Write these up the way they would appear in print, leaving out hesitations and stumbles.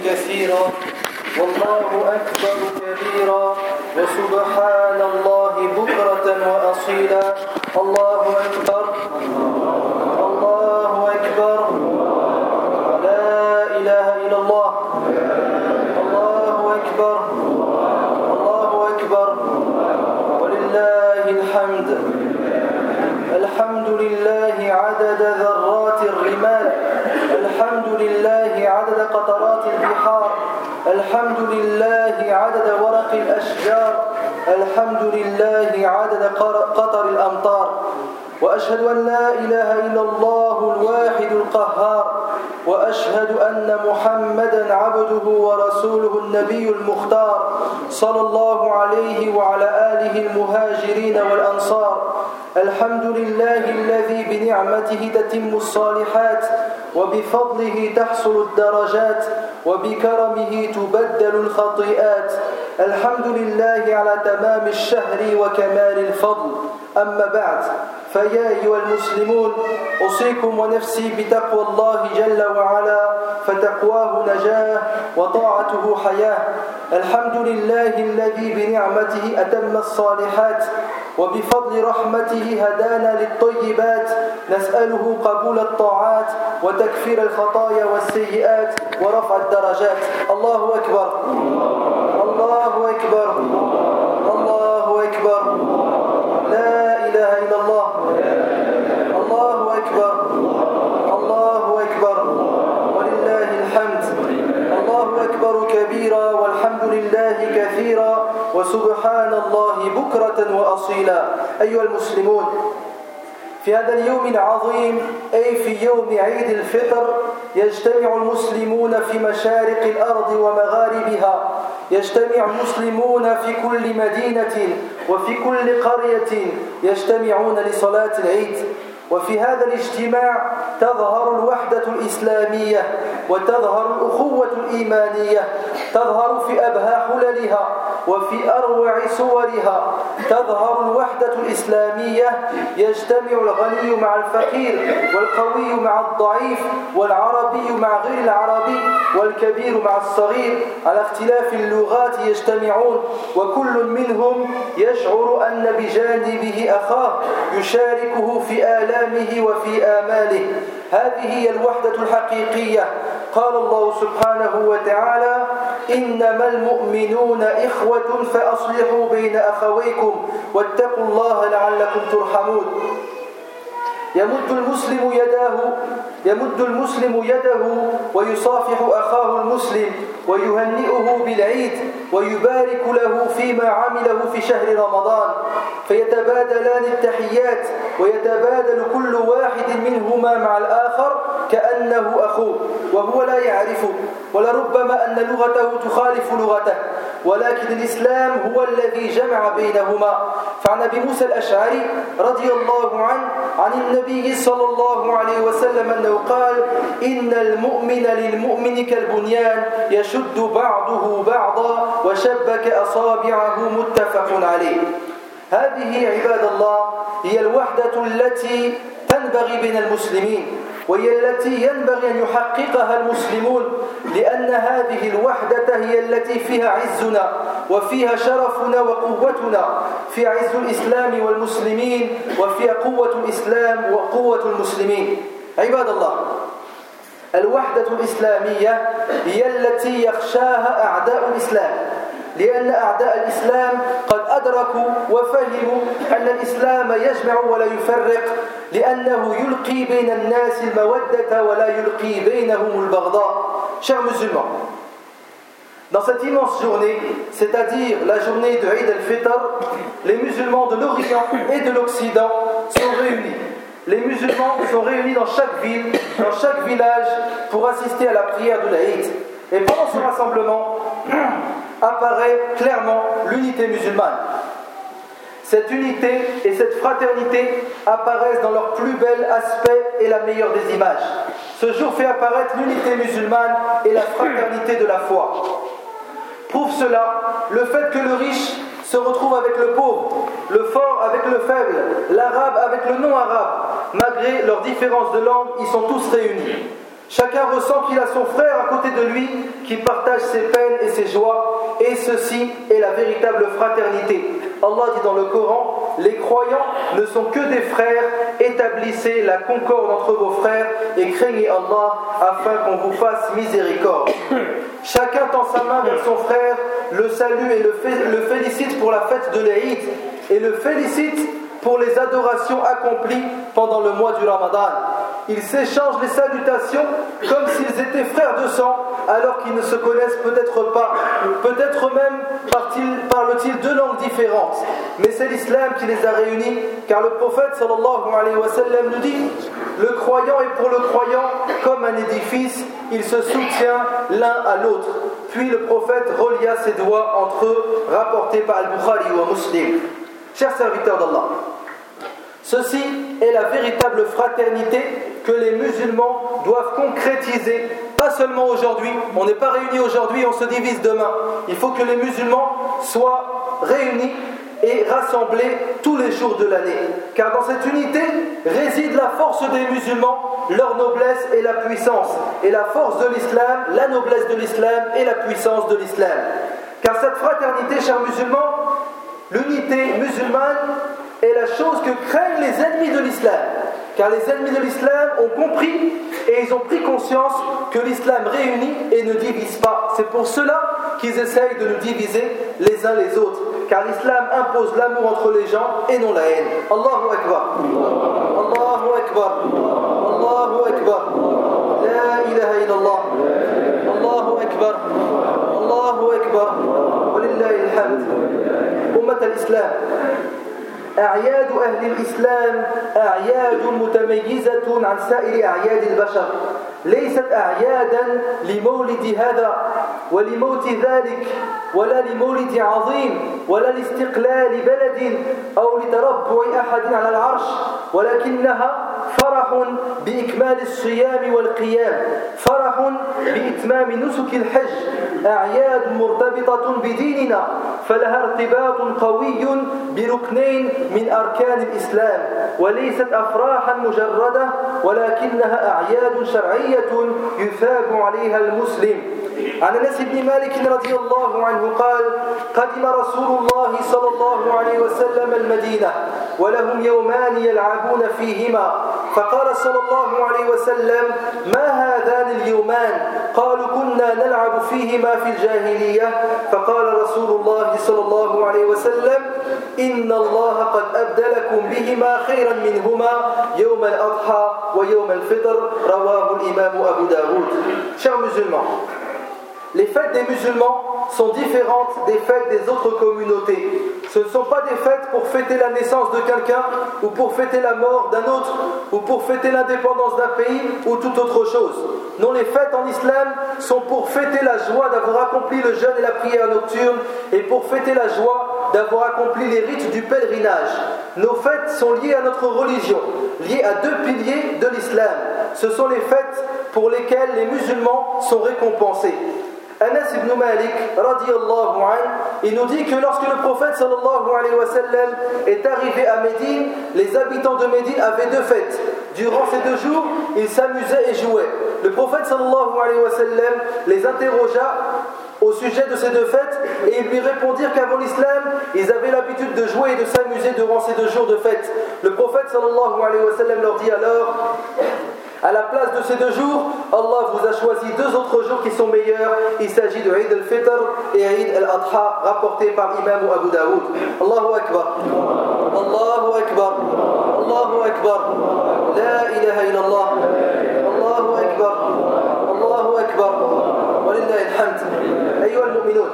كثيرا والله أكبر كبيرا وسبحان الله بكرة وأصيلا الله أكبر الله أكبر لا إله إلا الله الله أكبر الله أكبر ولله الحمد الحمد لله عدد ذرات الرمال الحمد لله عدد قطرات البحار الحمد لله عدد ورق الأشجار الحمد لله عدد قطر الأمطار وأشهد أن لا إله إلا الله الواحد القهار وأشهد أن محمدًا عبده ورسوله النبي المختار صلى الله عليه وعلى آله المهاجرين والأنصار الحمد لله الذي بنعمته تتم الصالحات وبفضله تحصل الدرجات وبكرمه تبدل الخطيئات الحمد لله على تمام الشهر وكمال الفضل أما بعد فيا أيها المسلمون أوصيكم ونفسي بتقوى الله جل وعلا فتقواه نجاة وطاعته حياة الحمد لله الذي بنعمته أتم الصالحات وبفضل رحمته هدانا للطيبات نسأله قبول الطاعات وتكفير الخطايا والسيئات ورفع الدرجات الله أكبر الله أكبر الله أكبر لا إله إلا الله الله أكبر الله أكبر ولله الحمد الله أكبر كبيرا والحمد لله كثيرا وسبحان الله بكرة وأصيلا أيها المسلمون في هذا اليوم العظيم أي في يوم عيد الفطر يجتمع المسلمون في مشارق الأرض ومغاربها يجتمع المسلمون في كل مدينة وفي كل قرية يجتمعون لصلاة العيد وفي هذا الاجتماع تظهر الوحدة الإسلامية وتظهر الأخوة الإيمانية تظهر في أبهى حللها وفي أروع صورها تظهر الوحدة الإسلامية يجتمع الغني مع الفقير والقوي مع الضعيف والعربي مع غير العربي والكبير مع الصغير على اختلاف اللغات يجتمعون وكل منهم يشعر أن بجانبه أخاه يشاركه في آلامه وفي آماله هذه هي الوحدة الحقيقية قال الله سبحانه وتعالى إنما المؤمنون إخوة فأصلحوا بين أخويكم واتقوا الله لعلكم ترحمون يمد المسلم يده ويصافح أخاه المسلم ويهنئه بالعيد ويبارك له فيما عمله في شهر رمضان فيتبادلان التحيات ويتبادل كل واحد منهما مع الآخر كأنه أخوه وهو لا يعرفه ولربما أن لغته تخالف لغته ولكن الإسلام هو الذي جمع بينهما فعن أبي موسى الأشعري رضي الله عنه عن النبي صلى الله عليه وسلم أنه قال إن المؤمن للمؤمن كالبنيان يشد بعضه بعضا وشبك أصابعه متفق عليه هذه عباد الله هي الوحدة التي تنبغي بين المسلمين وهي التي ينبغي أن يحققها المسلمون لأن هذه الوحدة هي التي فيها عزنا وفيها شرفنا وقوتنا في عز الإسلام والمسلمين وفيها قوة الإسلام وقوة المسلمين عباد الله الوحدة الإسلامية هي التي يخشاها أعداء الإسلام لأن أعداء الإسلام قد أدركوا وفهموا أن الإسلام يجمع ولا يفرق لأنه يلقي بين الناس المودة ولا يلقي بينهم البغضاء. Chers musulmans, dans cette immense journée, c'est-à-dire la journée de Eid al-Fitr, les musulmans de l'Orient et de l'Occident sont réunis. Les musulmans sont réunis dans chaque ville, dans chaque village pour assister à la prière de l'Eid. Et pendant ce rassemblement apparaît clairement l'unité musulmane. Cette unité et cette fraternité apparaissent dans leur plus bel aspect et la meilleure des images. Ce jour fait apparaître l'unité musulmane et la fraternité de la foi. Prouve cela le fait que le riche se retrouve avec le pauvre, le fort avec le faible, l'arabe avec le non-arabe. Malgré leurs différences de langue, ils sont tous réunis. Chacun ressent qu'il a son frère à côté de lui qui partage ses peines et ses joies, et ceci est la véritable fraternité. Allah dit dans le Coran, les croyants ne sont que des frères, établissez la concorde entre vos frères et craignez Allah afin qu'on vous fasse miséricorde. Chacun tend sa main vers son frère, le salue et le félicite pour la fête de l'Aïd et le félicite pour les adorations accomplies pendant le mois du Ramadan. Ils s'échangent les salutations comme s'ils étaient frères de sang alors qu'ils ne se connaissent peut-être pas. Peut-être même parlent-ils deux langues différentes. Mais c'est l'islam qui les a réunis, car le prophète sallallahu alayhi wa sallam nous dit: le croyant est pour le croyant comme un édifice, il se soutient l'un à l'autre. Puis le prophète relia ses doigts entre eux, rapporté par Al-Bukhari ou Muslim. Chers serviteurs d'Allah, ceci est la véritable fraternité que les musulmans doivent concrétiser. Pas seulement aujourd'hui, on n'est pas réunis aujourd'hui et on se divise demain. Il faut que les musulmans soient réunis et rassemblés tous les jours de l'année. Car dans cette unité réside la force des musulmans, leur noblesse et la puissance. Et la force de l'islam, la noblesse de l'islam et la puissance de l'islam. Car cette fraternité, chers musulmans, l'unité musulmane est la chose que craignent les ennemis de l'islam. Car les ennemis de l'islam ont compris et ils ont pris conscience que l'islam réunit et ne divise pas. C'est pour cela qu'ils essayent de nous diviser les uns les autres. Car l'islam impose l'amour entre les gens et non la haine. Allahu Akbar. Allahu Akbar. Allahu Akbar. La ilaha illallah. Allahu Akbar. Allahu Akbar. Walillahi alhamd. Ummat al-Islam. أعياد أهل الإسلام أعياد متميزة عن سائر أعياد البشر ليست أعيادا لمولد هذا ولموت ذلك ولا لمولد عظيم ولا لاستقلال بلد أو لتربع أحد على العرش ولكنها فرح بإكمال الصيام والقيام فرح بإتمام نسك الحج أعياد مرتبطة بديننا فلها ارتباط قوي بركنين من أركان الإسلام وليست أفراحا مجردة ولكنها أعياد شرعية يثاب عليها المسلم. عن أنس بن مالك رضي الله عنه قال: قدم رسول الله صلى الله عليه وسلم المدينة ولهم يومان يلعبون فيهما فقال صلى الله عليه وسلم: ما هذان اليومان؟ قالوا: كنا نلعب فيهما في الجاهلية فقال رسول الله صلى الله عليه وسلم: إن الله قد أبدلكم بهما خيرا منهما يوم الأضحى ويوم الفطر رواه الإمام أبو داود. Chers musulmans, les fêtes des musulmans sont différentes des fêtes des autres communautés. Ce ne sont pas des fêtes pour fêter la naissance de quelqu'un ou pour fêter la mort d'un autre ou pour fêter l'indépendance d'un pays ou toute autre chose. Non, les fêtes en islam sont pour fêter la joie d'avoir accompli le jeûne et la prière nocturne et pour fêter la joie d'avoir accompli les rites du pèlerinage. Nos fêtes sont liées à notre religion, liées à deux piliers de l'islam. Ce sont les fêtes pour lesquelles les musulmans sont récompensés. Anas ibn Malik, radiyallahu anhu, il nous dit que lorsque le prophète sallallahu alayhi wa sallam est arrivé à Médine, les habitants de Médine avaient deux fêtes. Durant ces 2 jours, ils s'amusaient et jouaient. Le prophète sallallahu alayhi wa sallam les interrogea au sujet de ces deux fêtes et ils lui répondirent qu'avant l'islam, ils avaient l'habitude de jouer et de s'amuser durant ces 2 jours de fête. Le prophète sallallahu alayhi wa sallam leur dit alors: à la place de ces 2 jours, Allah vous a choisi 2 autres jours qui sont meilleurs. Il s'agit de Eid al-Fitr et Eid al-Adha, rapporté par l'imam Abu Daoud. Allahu Akbar. Allahu Akbar. Allahu Akbar. La ilaha illallah. Allahu Akbar. Allahu Akbar. Walillahi alhamd. أيها المؤمنون،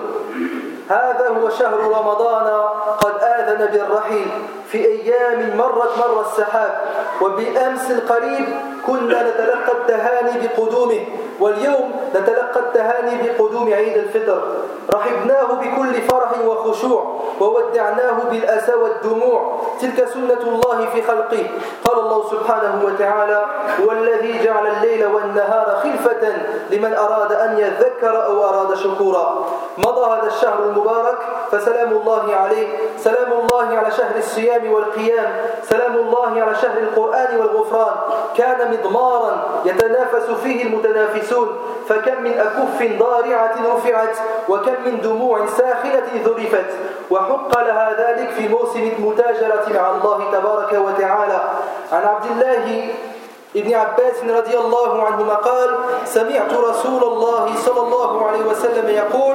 هذا هو شهر رمضان قد آذن بالرحيل في أيام مرت مر السحاب وبأمس القريب كنا نتلقى التهاني بقدومه واليوم نتلقى التهاني بقدوم عيد الفطر. رحبناه بكل فرح وخشوع وودعناه بالأسى والدموع. تلك سنة الله في خلقه. قال الله سبحانه وتعالى: هو الذي جعل الليل والنهار خلفة لمن أراد أن يذكر أو أراد وشكورا. مضى هذا الشهر المبارك فسلام الله عليه، سلام الله على شهر الصيام والقيام، سلام الله على شهر القرآن والغفران. كان مضمارا يتنافس فيه المتنافسون، فكم من أكف ضارعة رفعت وكم من دموع ساخنة ذرفت، وحق لها ذلك في موسم المتاجرة مع الله تبارك وتعالى. عن عبد الله ابن عباس رضي الله عنهما قال: سمعت رسول الله صلى الله عليه وسلم يقول: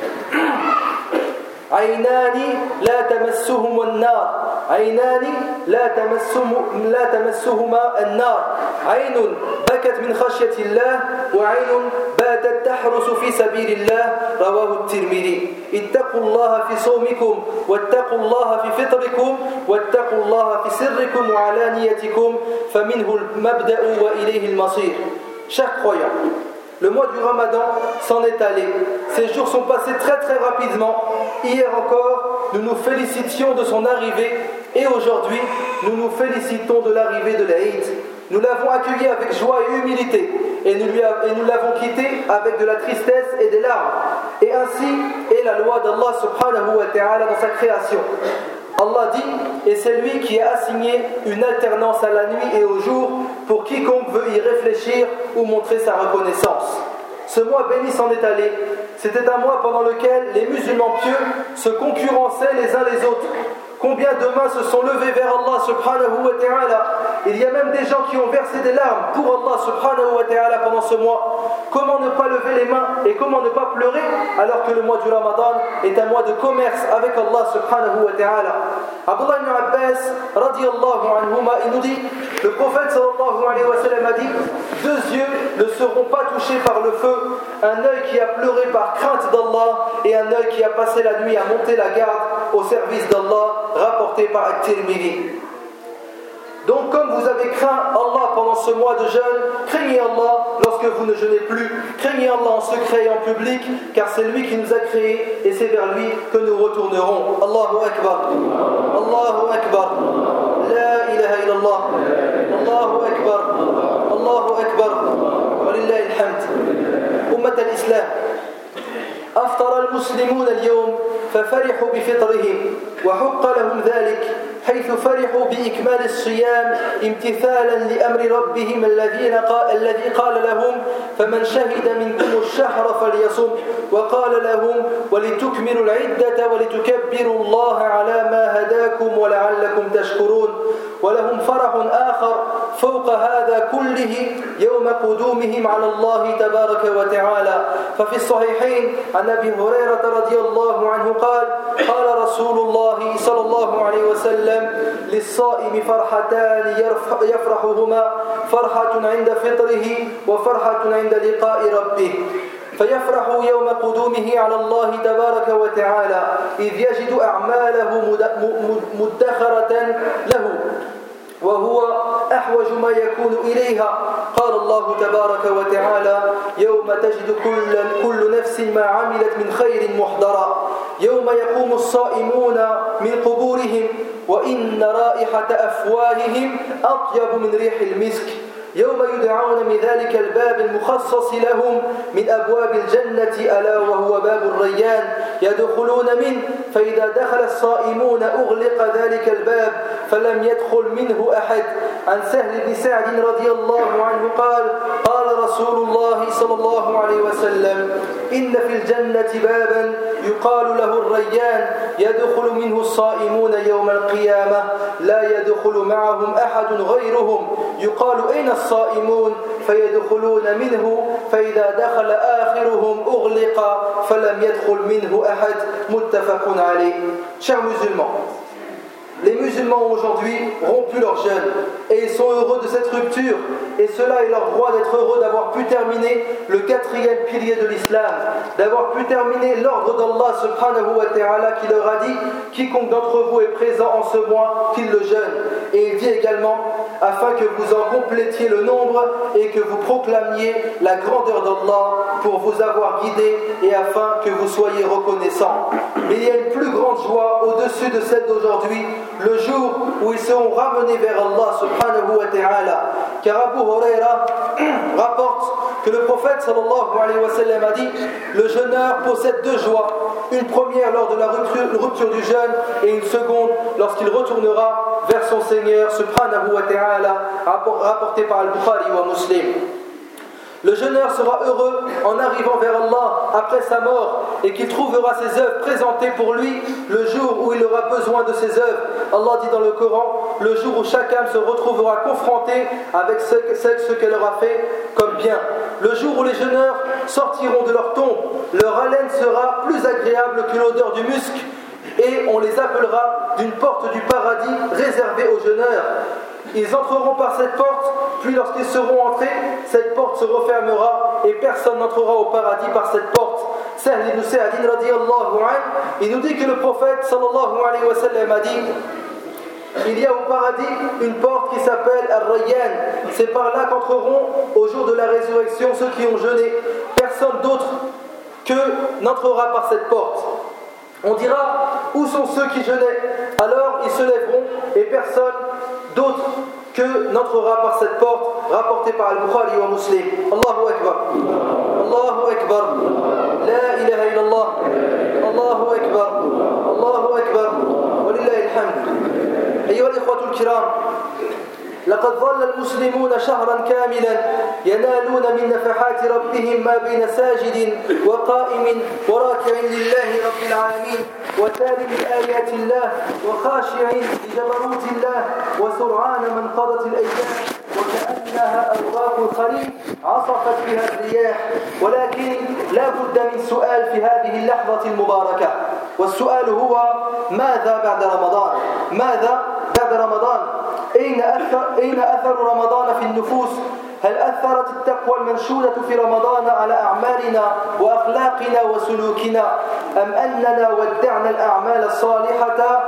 عينان لا تمسهما النار، عينان لا تمسهما النار، عين بكت من خشية الله وعين باتت تحرس في سبيل الله. رواه الترمذي. اتقوا الله في صومكم، واتقوا الله في فطركم، واتقوا الله في سركم وعلانيتكم، فمنه المبدأ وإليه المصير. Chers croyants, le mois du Ramadan s'en est allé. Ces jours sont passés très très rapidement. Hier encore, nous nous félicitions de son arrivée, et aujourd'hui, nous nous félicitons de l'arrivée de l'Aïd. Nous l'avons accueilli avec joie et humilité, et nous l'avons quitté avec de la tristesse et des larmes. Et ainsi est la loi d'Allah subhanahu wa ta'ala dans sa création. Allah dit: et c'est lui qui a assigné une alternance à la nuit et au jour pour quiconque veut y réfléchir ou montrer sa reconnaissance. Ce mois béni s'en est allé. C'était un mois pendant lequel les musulmans pieux se concurrençaient les uns les autres. Combien de mains se sont levées vers Allah subhanahu wa ta'ala. Il y a même des gens qui ont versé des larmes pour Allah subhanahu wa ta'ala pendant ce mois. Comment ne pas lever les mains et comment ne pas pleurer alors que le mois du Ramadan est un mois de commerce avec Allah subhanahu wa ta'ala. Abdullah ibn Abbas radiyallahu anhuma, il nous dit: le prophète sallallahu alayhi wa sallam a dit: deux yeux ne seront pas touchés par le feu, un œil qui a pleuré par crainte d'Allah et un œil qui a passé la nuit à monter la garde au service d'Allah, rapporté par At-Tirmidhi. Donc comme vous avez craint Allah pendant ce mois de jeûne, craignez Allah lorsque vous ne jeûnez plus, craignez Allah en secret et en public, car c'est lui qui nous a créés et c'est vers lui que nous retournerons. Allahu Akbar, Allahu Akbar, La ilaha illallah, Allahu Akbar, Allahu Akbar, Walillahi alhamd. Ummat al-Islam, أفطر المسلمون اليوم ففرحوا بفطرهم وحق لهم ذلك، حيث فرحوا بإكمال الصيام امتثالا لأمر ربهم الذي قال لهم: فمن شهد منكم الشهر فليصم، وقال لهم: ولتكملوا العدة ولتكبروا الله على ما هداكم ولعلكم تشكرون. ولهم فرح آخر فوق هذا كله يوم قدومهم على الله تبارك وتعالى. ففي الصحيحين عن أبي هريرة رضي الله عنه قال: قال رسول الله صلى الله عليه وسلم: للصائم فرحتان يفرحهما، فرحة عند فطره وفرحة عند لقاء ربه. فيفرح يوم قدومه على الله تبارك وتعالى إذ يجد أعماله مدخرة له وهو أحوج ما يكون إليها. قال الله تبارك وتعالى: يوم تجد كل نفس ما عملت من خير محضرا، يوم يقوم الصائمون من قبورهم وإن رائحة أفواههم أطيب من ريح المسك، يوم يدعون من ذلك الباب المخصص لهم من أبواب الجنة ألا وهو باب الريان، يدخلون منه فإذا دخل الصائمون أغلق ذلك الباب فلم يدخل منه أحد. عن سهل بن سعد رضي الله عنه قال: قال رسول الله صلى الله عليه وسلم: إن في الجنة بابا يقال له الريان يدخل منه الصائمون يوم القيامة لا يدخل معهم أحد غيرهم، يقال: أين الصائمون؟ فيدخلون منه فإذا دخل آخرهم أغلق فلم يدخل منه أحد. متفق عليه. Chers musulmans, les musulmans ont aujourd'hui rompu leur jeûne et ils sont heureux de cette rupture, et cela est leur droit d'être heureux d'avoir pu terminer le quatrième pilier de l'islam, d'avoir pu terminer l'ordre d'Allah subhanahu wa ta'ala qui leur a dit: quiconque d'entre vous est présent en ce mois, qu'il le jeûne. Et il dit également: afin que vous en complétiez le nombre et que vous proclamiez la grandeur d'Allah pour vous avoir guidé et afin que vous soyez reconnaissants. Mais il y a une plus grande joie au-dessus de celle d'aujourd'hui, le jour où ils seront ramenés vers Allah subhanahu wa ta'ala. Car Abu Huraira rapporte que le prophète sallallahu alayhi wa sallam a dit: le jeûneur possède deux joies, une première lors de la rupture du jeûne et une seconde lorsqu'il retournera vers son Seigneur subhanahu wa ta'ala, rapporté par Al-Bukhari wa Muslim. Le jeûneur sera heureux en arrivant vers Allah après sa mort et qu'il trouvera ses œuvres présentées pour lui le jour où il aura besoin de ses œuvres. Allah dit dans le Coran: le jour où chaque âme se retrouvera confrontée avec ce qu'elle aura fait comme bien. Le jour où les jeûneurs sortiront de leur tombe, leur haleine sera plus agréable que l'odeur du musc et on les appellera d'une porte du paradis réservée aux jeûneurs. Ils entreront par cette porte, puis lorsqu'ils seront entrés, cette porte se refermera et personne n'entrera au paradis par cette porte. Sahl ibn Sa'd radiyallahu anhu, il nous dit que le prophète sallallahu alayhi wa sallam a dit: il y a au paradis une porte qui s'appelle Ar-Rayyan. C'est par là qu'entreront au jour de la résurrection ceux qui ont jeûné. Personne d'autre que n'entrera par cette porte. On dira: où sont ceux qui jeûnaient? Alors ils se lèveront et personne d'autre que n'entrera par cette porte, rapporté par Al-Bukhari wa Muslim. Allahu Akbar. Allahu Akbar. La ilaha illallah. Allahu Akbar. Allahu Akbar. Walillahi alhamd. أيها الإخوة الكرام، لقد ظل المسلمون شهرا كاملا ينالون من نفحات ربهم ما بين ساجد وقائم وراكع لله رب العالمين وتال لآيات الله وخاشع لجبروت الله وسرعان من قضت الأيام وكأنها أرواق الخريف عصفت بها الرياح. ولكن لا بد من سؤال في هذه اللحظة المباركة، والسؤال هو: ماذا بعد رمضان؟ ماذا بعد رمضان؟ أين أثر رمضان في النفوس؟ هل أثرت التقوى المنشودة في رمضان على أعمالنا وأخلاقنا وسلوكنا، أم أننا ودعنا الأعمال الصالحة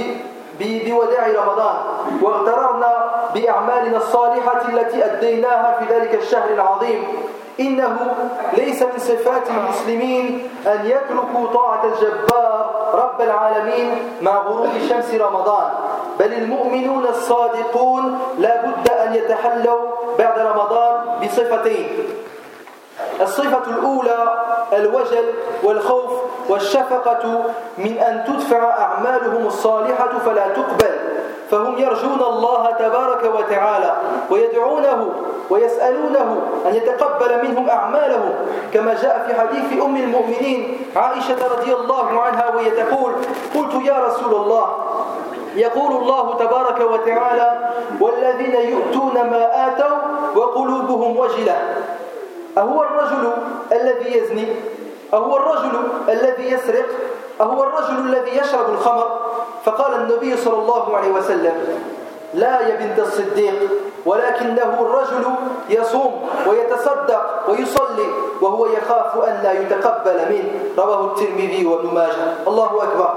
بوداع رمضان واغتررنا بأعمالنا الصالحة التي أديناها في ذلك الشهر العظيم؟ إنه ليس من صفات المسلمين أن يتركوا طاعة الجبار رب العالمين مع غروب شمس رمضان، بل المؤمنون الصادقون لا بد أن يتحلوا بعد رمضان بصفتين: الصفة الأولى الوجل والخوف والشفقة من أن تدفع أعمالهم الصالحة فلا تقبل، فهم يرجون الله تبارك وتعالى ويدعونه ويسألونه أن يتقبل منهم أعمالهم، كما جاء في حديث أم المؤمنين عائشة رضي الله عنها وهي تقول: قلت يا رسول الله، يقول الله تبارك وتعالى: والذين يؤتون ما آتوا وقلوبهم وجلة، أهو الرجل الذي يزني؟ أهو الرجل الذي يسرق؟ أهو الرجل الذي يشرب الخمر؟ فقال النبي صلى الله عليه وسلم: لا يا بنت الصديق، ولكنه الرجل يصوم ويتصدق ويصلي وهو يخاف أن لا يتقبل منه. رواه الترمذي وابن ماجه. الله أكبر.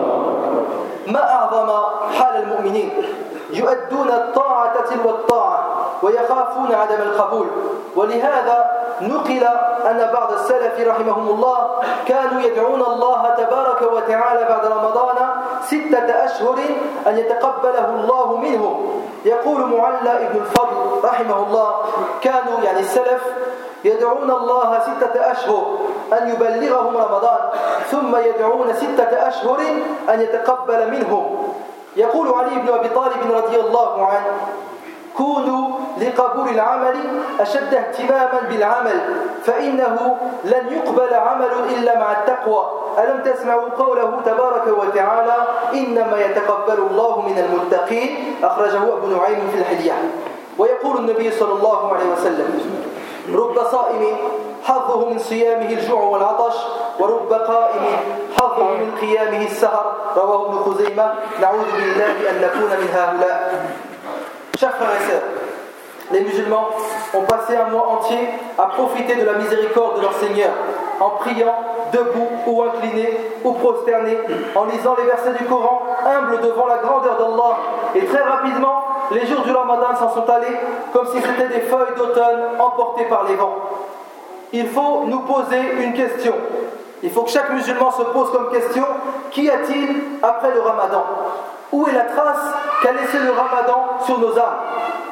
ما أعظم حال المؤمنين، يؤدون الطاعة تلو الطاعة ويخافون عدم القبول. ولهذا نقل أن بعض السلف رحمهم الله كانوا يدعون الله تبارك وتعالى بعد رمضان 6 أشهر أن يتقبله الله منهم. يقول معلى ابن الفضل رحمه الله: كانوا يعني السلف يدعون الله 6 أشهر أن يبلغهم رمضان، ثم يدعون 6 أشهر أن يتقبل منهم. يقول علي بن أبي طالب رضي الله عنه: كونوا لقبول العمل أشد اهتماما بالعمل، فإنه لن يقبل عمل إلا مع التقوى. ألم تسمعوا قوله تبارك وتعالى: إنما يتقبل الله من المتقين، أخرجه أبو نعيم في الحلية. ويقول النبي صلى الله عليه وسلم: رب صائم حظه من صيامه الجوع والعطش، ورب قائم حظه من قيامه السهر. رواه ابن خزيمة. نعوذ بالله أن نكون من هؤلاء. Chers frères et sœurs, les musulmans ont passé un mois entier à profiter de la miséricorde de leur Seigneur, en priant, debout ou incliné ou prosterné, en lisant les versets du Coran, humbles devant la grandeur d'Allah. Et très rapidement, les jours du Ramadan s'en sont allés comme si c'était des feuilles d'automne emportées par les vents. Il faut nous poser une question. Il faut que chaque musulman se pose comme question: qu'y a-t-il après le Ramadan? Où est la trace qu'a laissé le Ramadan sur nos âmes?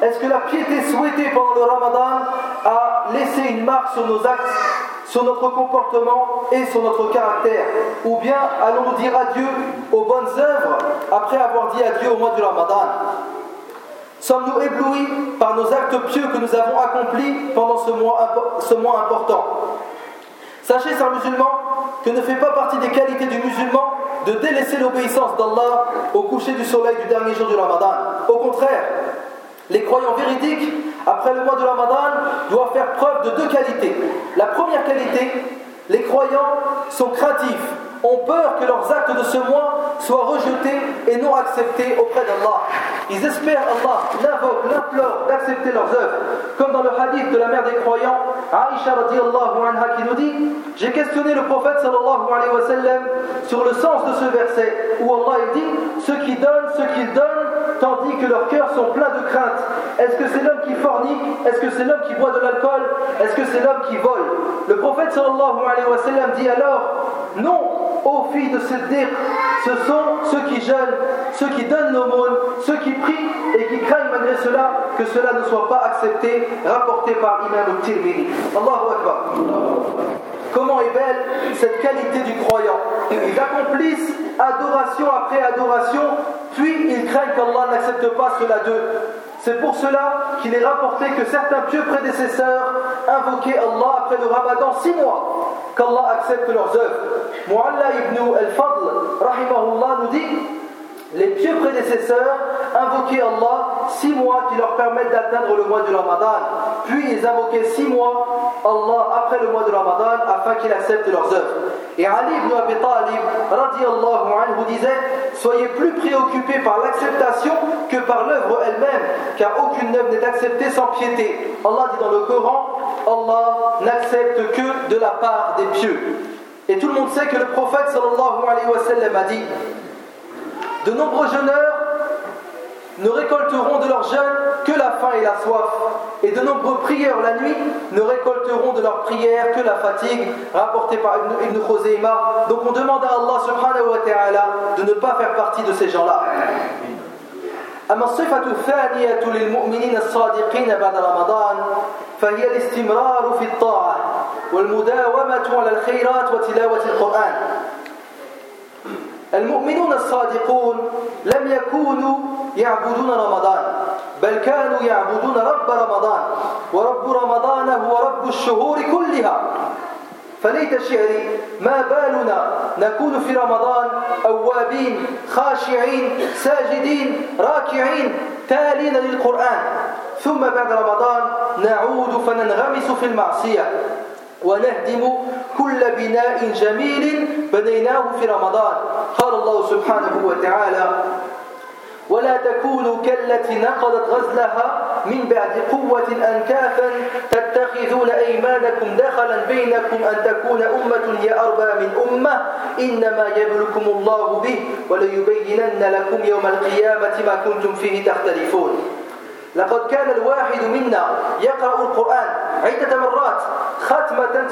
est-ce que la piété souhaitée pendant le Ramadan a laissé une marque sur nos actes, sur notre comportement et sur notre caractère? Ou bien allons-nous dire adieu aux bonnes œuvres après avoir dit adieu au mois du Ramadan? Sommes-nous éblouis par nos actes pieux que nous avons accomplis pendant ce mois important? Sachez, chers musulmans, que ne fait pas partie des qualités du musulman de délaisser l'obéissance d'Allah au coucher du soleil du dernier jour du Ramadan. Au contraire, les croyants véridiques, après le mois du Ramadan, doivent faire preuve de deux qualités. La première qualité, les croyants sont craintifs, ont peur que leurs actes de ce mois soient rejetés et non acceptés auprès d'Allah. Ils espèrent Allah, l'invoquent, l'implorent d'accepter leurs œuvres. Comme dans le hadith de la mère des croyants, Aïcha radiyallahu anha, qui nous dit: j'ai questionné le prophète sallallahu alayhi wa sallam sur le sens de ce verset où Allah dit: ceux qui donnent ce qu'ils donnent tandis que leurs cœurs sont pleins de crainte. Est-ce que c'est l'homme qui fornique? Est-ce que c'est l'homme qui boit de l'alcool? Est-ce que c'est l'homme qui vole? Le prophète sallallahu alayhi wa sallam dit alors: non, ô filles de Siddiq, ce sont ceux qui jeûnent, ceux qui donnent l'aumône, ceux qui prient et qui craignent malgré cela que cela ne soit pas accepté, rapporté par l'imam al-Tirmidhi. Allahu Akbar. Comment est belle cette qualité du croyant. Ils accomplissent adoration après adoration, puis ils craignent qu'Allah n'accepte pas cela d'eux. C'est pour cela qu'il est rapporté que certains pieux prédécesseurs invoquaient Allah après le Ramadan 6 mois, qu'Allah accepte leurs œuvres. Mu'alla ibn al-Fadl, rahimahullah, nous dit: les pieux prédécesseurs invoquaient Allah 6 mois qui leur permettent d'atteindre le mois du Ramadan. Puis ils invoquaient 6 mois Allah après le mois du Ramadan afin qu'il accepte leurs œuvres. Et Ali ibn Abi Talib radiyallahu anhu disait: soyez plus préoccupés par l'acceptation que par l'œuvre elle-même, car aucune œuvre n'est acceptée sans piété. Allah dit dans le Coran: Allah n'accepte que de la part des pieux. Et tout le monde sait que le prophète sallallahu alayhi wa sallam a dit: de nombreux jeûneurs ne récolteront de leur jeûne que la faim et la soif, et de nombreux prieurs la nuit ne récolteront de leur prière que la fatigue, rapporté par Ibn Khuzaymah. Donc on demande à Allah subhanahu wa ta'ala de ne pas faire partie de ces gens-là. أما الصفة الثانية للمؤمنين الصادقين بعد رمضان فهي الاستمرار في الطاعة والمداومة على الخيرات وتلاوة القرآن. المؤمنون الصادقون لم يكونوا يعبدون رمضان، بل كانوا يعبدون رب رمضان، ورب رمضان هو رب الشهور كلها. فليت شعري ما بالنا نكون في رمضان أوابين خاشعين ساجدين راكعين تالين للقرآن، ثم بعد رمضان نعود فننغمس في المعصية ونهدم كل بناء جميل بنيناه في رمضان. قال الله سبحانه وتعالى: ولا تكونوا كالتي نقضت غزلها من بعد قوة أنكاثا تتخذون أيمانكم دخلا بينكم أن تكون أمة هي أربى من أمة إنما يبلوكم الله به وليبينن لكم يوم القيامة ما كنتم فيه تختلفون. لقد كان الواحد منا يقرأ القرآن عدة مرات ختمة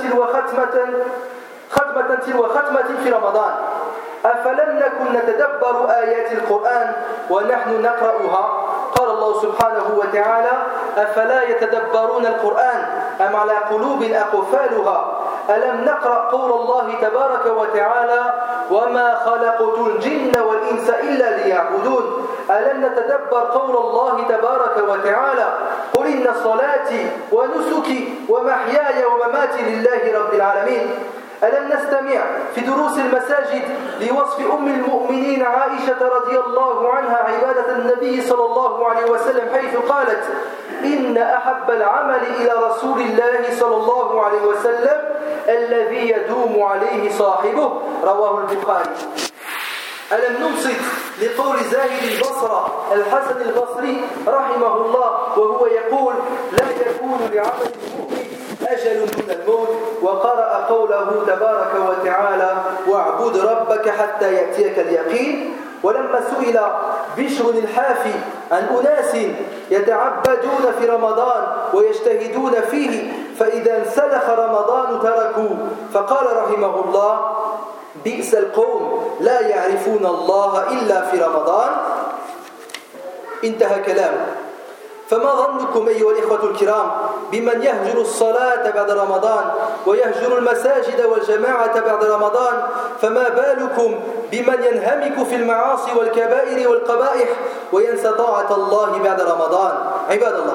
تلو ختمة في رمضان. أفلم نكن نتدبر آيات القرآن ونحن نقرأها؟ قال الله سبحانه وتعالى: أفلا يتدبرون القرآن أم على قلوب أقفالها؟ ألم نقرأ قول الله تبارك وتعالى: وما خلقت الجن والإنس إلا ليعبدون؟ ألم نتدبر قول الله تبارك وتعالى: قل إن صلاتي ونسكي ومحياي ومماتي لله رب العالمين؟ ألم نستمع في دروس المساجد لوصف أم المؤمنين عائشة رضي الله عنها عبادة النبي صلى الله عليه وسلم حيث قالت: إن أحب العمل إلى رسول الله صلى الله عليه وسلم الذي يدوم عليه صاحبه، رواه البخاري. ألم ننصت لقول زاهد البصرة الحسن البصري رحمه الله وهو يقول: لا يكون لعمل المؤمن أجل دون الموت، وقرأ قوله تبارك وتعالى: واعبد ربك حتى يأتيك اليقين. ولما سئل بشر الحافي عن أناس يتعبدون في رمضان ويجتهدون فيه فإذا انسلخ رمضان تركوا، فقال رحمه الله: بئس القوم لا يعرفون الله إلا في رمضان. انتهى كلامه. فما ظنكم أيها الإخوة الكرام بمن يهجر الصلاة بعد رمضان ويهجر المساجد والجماعة بعد رمضان فما بالكم بمن ينهمك في المعاصي والكبائر والقبائح وينسى طاعة الله بعد رمضان. عباد الله،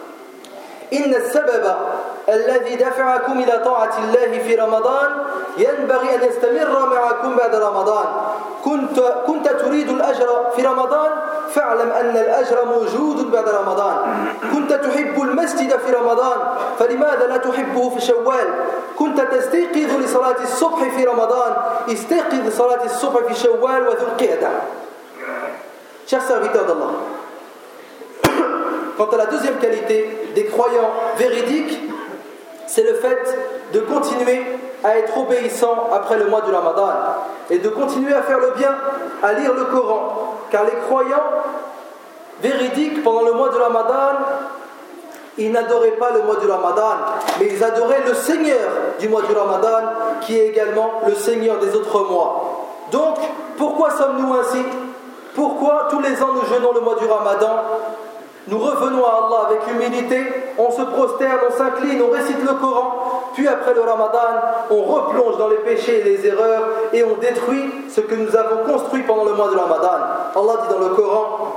إن السبب الذي دفعكم إلى طاعة الله في رمضان ينبغي أن يستمر معكم بعد رمضان. كنت تريد الأجر في رمضان فاعلم أن الأجر موجود بعد رمضان. كنت تحب المسجد في رمضان فلماذا لا تحبه في شوال؟ كنت تستيقظ لصلاة الصبح في رمضان استيقظ لصلاة الصبح في شوال وذو القعدة. Chers serviteurs d'Allah, quant à la deuxième qualité des croyants véridiques, c'est le fait de continuer à être obéissant après le mois du Ramadan et de continuer à faire le bien, à lire le Coran. Car les croyants véridiques pendant le mois du Ramadan, ils n'adoraient pas le mois du Ramadan, mais ils adoraient le Seigneur du mois du Ramadan, qui est également le Seigneur des autres mois. Donc, pourquoi sommes-nous ainsi? Pourquoi tous les ans nous jeûnons le mois du Ramadan? Nous revenons à Allah avec humilité, on se prosterne, on s'incline, on récite le Coran, puis après le Ramadan, on replonge dans les péchés et les erreurs et on détruit ce que nous avons construit pendant le mois de Ramadan. Allah dit dans le Coran: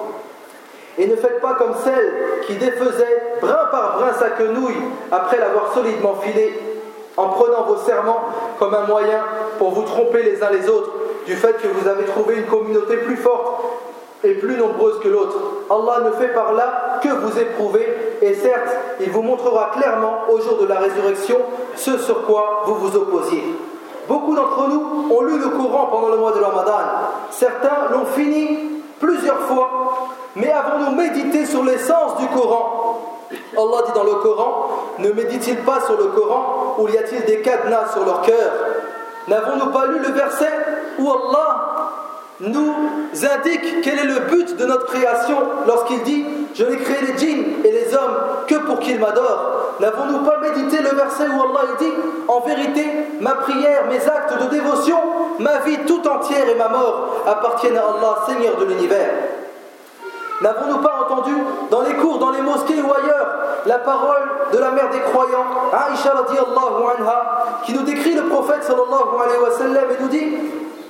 et ne faites pas comme celle qui défaisait brin par brin sa quenouille après l'avoir solidement filée, en prenant vos serments comme un moyen pour vous tromper les uns les autres du fait que vous avez trouvé une communauté plus forte et plus nombreuse que l'autre. Allah ne fait par là que vous éprouver, et certes, il vous montrera clairement au jour de la résurrection ce sur quoi vous vous opposiez. Beaucoup d'entre nous ont lu le Coran pendant le mois de Ramadan. Certains l'ont fini plusieurs fois, mais avons-nous médité sur l'essence du Coran? Allah dit dans le Coran: ne médite-t-il pas sur le Coran ou y a-t-il des cadenas sur leur cœur? N'avons-nous pas lu le verset où Allah nous indique quel est le but de notre création lorsqu'il dit: je n'ai créé les djinns et les hommes que pour qu'ils m'adorent? N'avons-nous pas médité le verset où Allah dit: en vérité, ma prière, mes actes de dévotion, ma vie tout entière et ma mort appartiennent à Allah, Seigneur de l'univers? N'avons-nous pas entendu dans les cours, dans les mosquées ou ailleurs, la parole de la mère des croyants, Aïcha radiyallahu anha, qui nous décrit le prophète sallallahu alayhi wa sallam et nous dit: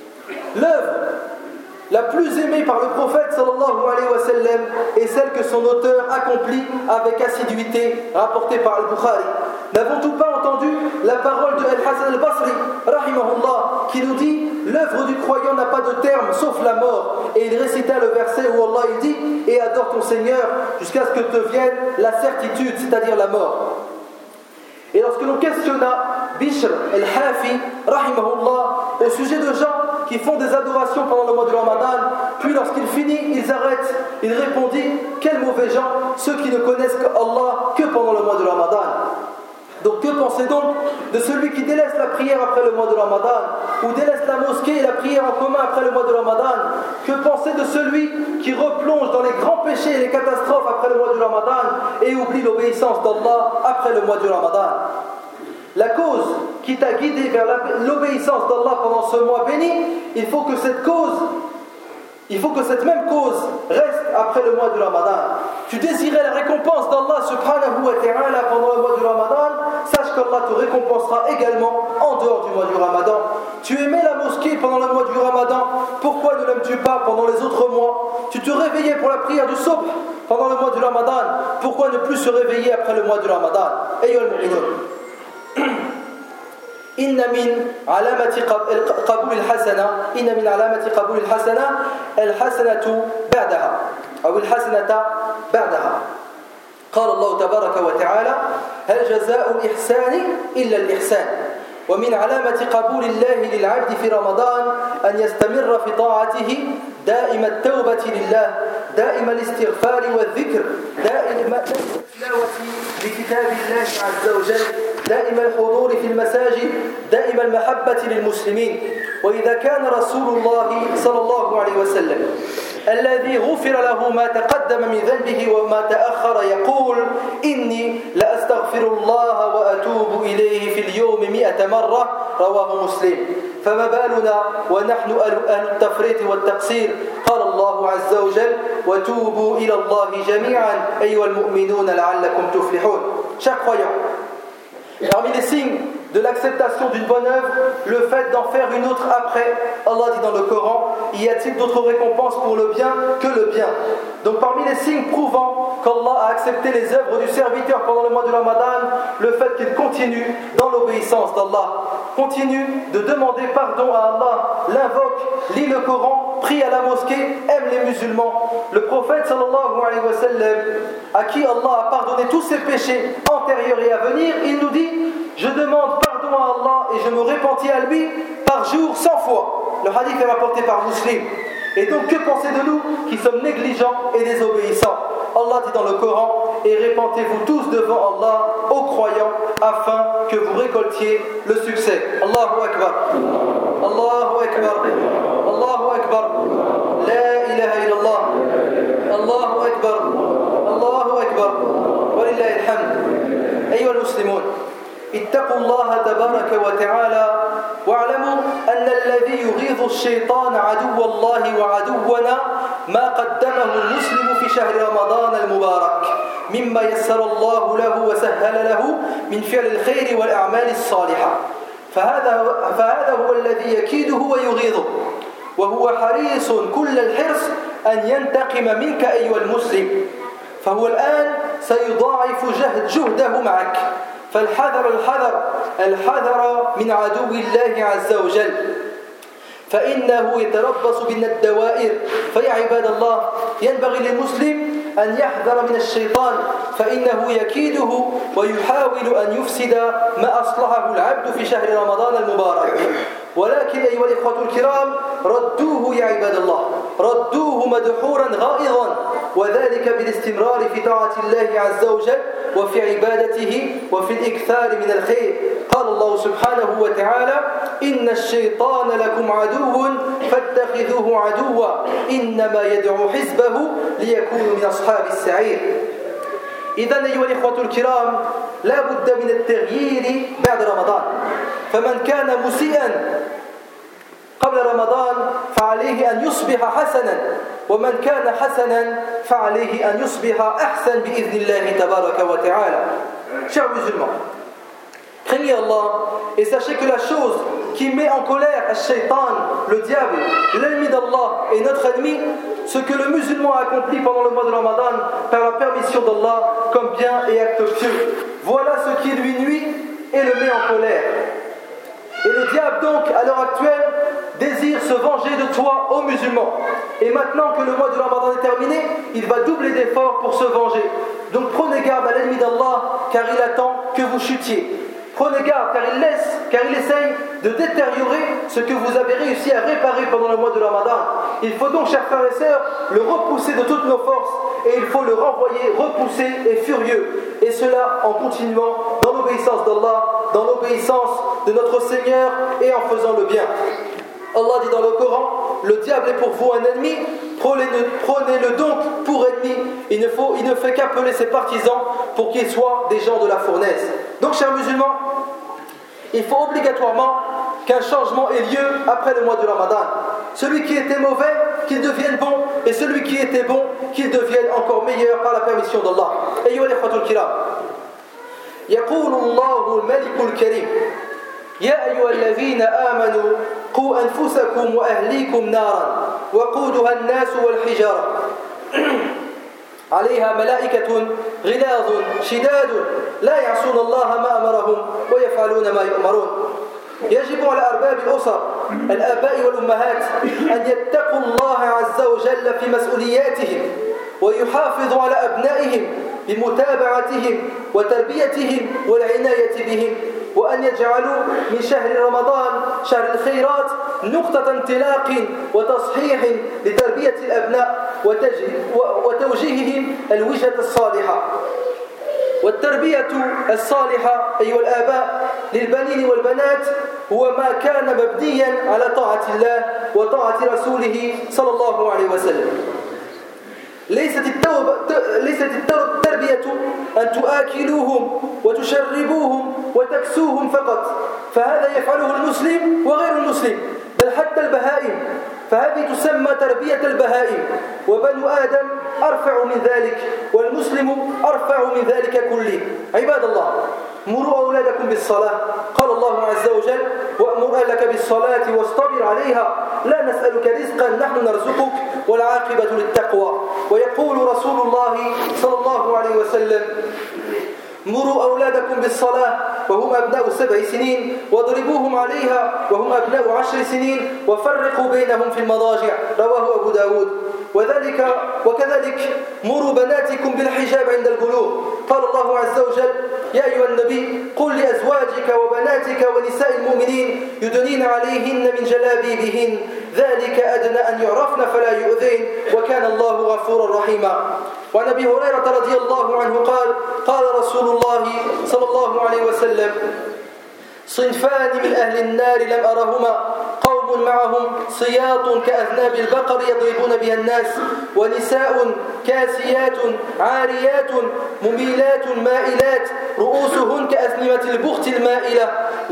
l'œuvre la plus aimée par le prophète sallallahu alayhi wa sallam est celle que son auteur accomplit avec assiduité, rapportée par Al-Bukhari. N'avons-nous pas entendu la parole de Al-Hasan al-Basri rahimahullah, qui nous dit: l'œuvre du croyant n'a pas de terme sauf la mort? Et il récita le verset où Allah il dit: et adore ton Seigneur jusqu'à ce que te vienne la certitude, c'est-à-dire la mort. Et lorsque l'on questionna Bishr al-Hafi rahimahullah au sujet de gens qui font des adorations pendant le mois de Ramadan, puis lorsqu'il finit, ils arrêtent, il répondit: quels mauvais gens, ceux qui ne connaissent Allah que pendant le mois de Ramadan. Donc que pensez donc de celui qui délaisse la prière après le mois de Ramadan, ou délaisse la mosquée et la prière en commun après le mois de Ramadan? Que pensez de celui qui replonge dans les grands péchés et les catastrophes après le mois de Ramadan et oublie l'obéissance d'Allah après le mois de Ramadan? La cause qui t'a guidé vers l'obéissance d'Allah pendant ce mois béni, il faut que cette même cause reste après le mois du Ramadan. Tu désirais la récompense d'Allah subhanahu wa ta'ala pendant le mois du Ramadan, sache qu'Allah te récompensera également en dehors du mois du Ramadan. Tu aimais la mosquée pendant le mois du Ramadan, pourquoi ne l'aimes-tu pas pendant les autres mois? Tu te réveillais pour la prière du Subh pendant le mois du Ramadan, pourquoi ne plus se réveiller après le mois du Ramadan? Ayyuhal mu'minun, إن من علامة قبول الحسنة بعدها أو الحسنة بعدها. قال الله تبارك وتعالى: هل جزاء الإحسان إلا الإحسان. ومن علامة قبول الله للعبد في رمضان أن يستمر في طاعته دائم التوبة لله، دائم الاستغفار والذكر، دائم التلاوة لكتاب الله عز وجل، دائم الحضور في المساجد، دائم المحبة للمسلمين. وإذا كان رسول الله صلى الله عليه وسلم الذي غفر له ما تقدم من ذنبه وما تأخر يقول: إني لأستغفر الله وأتوب إليه في اليوم 100 مرة، رواه مسلم. فما بالنا ونحن أهل التفريط والتقصير. قال الله عز وجل وتوبوا إلى الله جميعا أيها المؤمنون لعلكم تفلحون. Chers croyants, parmi les signes de l'acceptation d'une bonne œuvre, le fait d'en faire une autre après. Allah dit dans le Coran, y a-t-il d'autres récompenses pour le bien que le bien? Donc parmi les signes prouvant qu'Allah a accepté les œuvres du serviteur pendant le mois de Ramadan, le fait qu'il continue dans l'obéissance d'Allah, continue de demander pardon à Allah, l'invoque, lit le Coran, prie à la mosquée, aime les musulmans. Le prophète sallallahu alayhi wa sallam, à qui Allah a pardonné tous ses péchés antérieurs et à venir, il nous dit: je demande pardon à Allah et je me repentis à lui par jour 100 fois. Le hadith est rapporté par Muslim. Et donc que pensez de nous qui sommes négligents et désobéissants? Allah dit dans le Coran: et répentez-vous tous devant Allah aux croyants afin que vous récoltiez le succès. Allahu Akbar. Allahu Akbar. Allahu Akbar. La ilaha illallah. Allahu Akbar. Allahu Akbar. Walillahi alhamd. Ayyuha al-muslimun, اتقوا الله تبارك وتعالى واعلموا أن الذي يغيظ الشيطان عدو الله وعدونا ما قدمه المسلم في شهر رمضان المبارك مما يسر الله له وسهل له من فعل الخير والأعمال الصالحة فهذا هو الذي يكيده ويغيظه وهو حريص كل الحرص أن ينتقم منك أيها المسلم فهو الآن سيضاعف جهده معك فالحذر الحذر من عدو الله عز وجل فإنه يتربص بنا الدوائر فيا عباد الله ينبغي للمسلم أن يحذر من الشيطان فإنه يكيده ويحاول أن يفسد ما أصلحه العبد في شهر رمضان المبارك ولكن أيها الإخوة الكرام ردوه يا عباد الله ردوه مدحورا غائظا وذلك بالاستمرار في طاعة الله عز وجل وفي عبادته وفي الإكثار من الخير قال الله سبحانه وتعالى إن الشيطان لكم عدو فاتخذوه عدوا إنما يدعو حزبه ليكونوا من أصحاب السعير إذن أيها الإخوة الكرام لا بد من التغيير بعد رمضان فمن كان مسيئا قبل رمضان فعليه أن يصبح حسنا ومن كان حسنا فعليه أن يصبح أحسن بإذن الله تبارك وتعالى. Chers musulmans, craignez Allah et sachez que la chose qui met en colère Shaitan, le diable, l'ennemi d'Allah et notre ennemi, ce que le musulman a accompli pendant le mois de Ramadan par la permission d'Allah comme bien et acte pieux. Voilà ce qui lui nuit et le met en colère. Et le diable donc, à l'heure actuelle, désire se venger de toi, ô musulmans. Et maintenant que le mois de Ramadan est terminé, il va doubler d'efforts pour se venger. Donc prenez garde à l'ennemi d'Allah, car il attend que vous chutiez. Prenez garde, car il essaye de détériorer ce que vous avez réussi à réparer pendant le mois de Ramadan. Il faut donc, chers frères et sœurs, le repousser de toutes nos forces, et il faut le renvoyer repoussé et furieux. Et cela en continuant dans l'obéissance d'Allah, dans l'obéissance de notre Seigneur, et en faisant le bien. Allah dit dans le Coran, le diable est pour vous un ennemi, prenez-le donc pour ennemi. Il ne fait qu'appeler ses partisans pour qu'ils soient des gens de la fournaise. Donc, chers musulmans, il faut obligatoirement qu'un changement ait lieu après le mois de Ramadan. Celui qui était mauvais, qu'il devienne bon, et celui qui était bon, qu'il devienne encore meilleur par la permission d'Allah. Ayyuha al-ikhwatul kiram, yaqulu Allahu al-Malik al-Karim يا أيها الذين آمنوا قوا أنفسكم وأهليكم نارا وقودها الناس والحجارة عليها ملائكة غلاظ شداد لا يعصون الله ما أمرهم ويفعلون ما يؤمرون يجب على أرباب الأسر الآباء والأمهات أن يتقوا الله عز وجل في مسؤولياتهم ويحافظوا على أبنائهم بمتابعتهم وتربيتهم والعناية بهم وأن يجعلوا من شهر رمضان شهر الخيرات نقطة انطلاق وتصحيح لتربية الأبناء وتوجيههم الوجهة الصالحة والتربية الصالحة أيها الآباء للبنين والبنات هو ما كان مبنيا على طاعة الله وطاعة رسوله صلى الله عليه وسلم ليست التربية أن تؤكلوهم وتشربوهم وتكسوهم فقط، فهذا يفعله المسلم وغير المسلم، بل حتى البهائم، فهذه تسمى تربية البهائم، وبنو آدم أرفع من ذلك، والمسلم أرفع من ذلك كله. عباد الله، مروا أولادكم بالصلاة، قال الله عز وجل: وأمر أهلك بالصلاة واصطبر عليها لا نسألك رزقا نحن نرزقك والعاقبة للتقوى. ويقول رسول الله صلى الله عليه وسلم: مروا أولادكم بالصلاة وهم أبناء 7 سنين واضربوهم عليها وهم أبناء 10 سنين وفرقوا بينهم في المضاجع. رواه أبو داود. وكذلك مروا بناتكم بالحجاب عند البلوغ. قال الله عز وجل: يا أيها النبي قل لأزواجك وبناتك ونساء المؤمنين يدنين عليهن من جلابيبهن ذلك أدنى أن يعرفن فلا يؤذين وكان الله غفورا رحيما. وعن أبي هريرة رضي الله عنه قال: قال رسول الله صلى الله عليه وسلم: صنفان من أهل النار لم أرهما، قوم معهم صياط كأذناب البقر يضربون بها الناس، ونساء كاسيات عاريات مميلات مائلات رؤوسهن كأثنمة البخت المائلة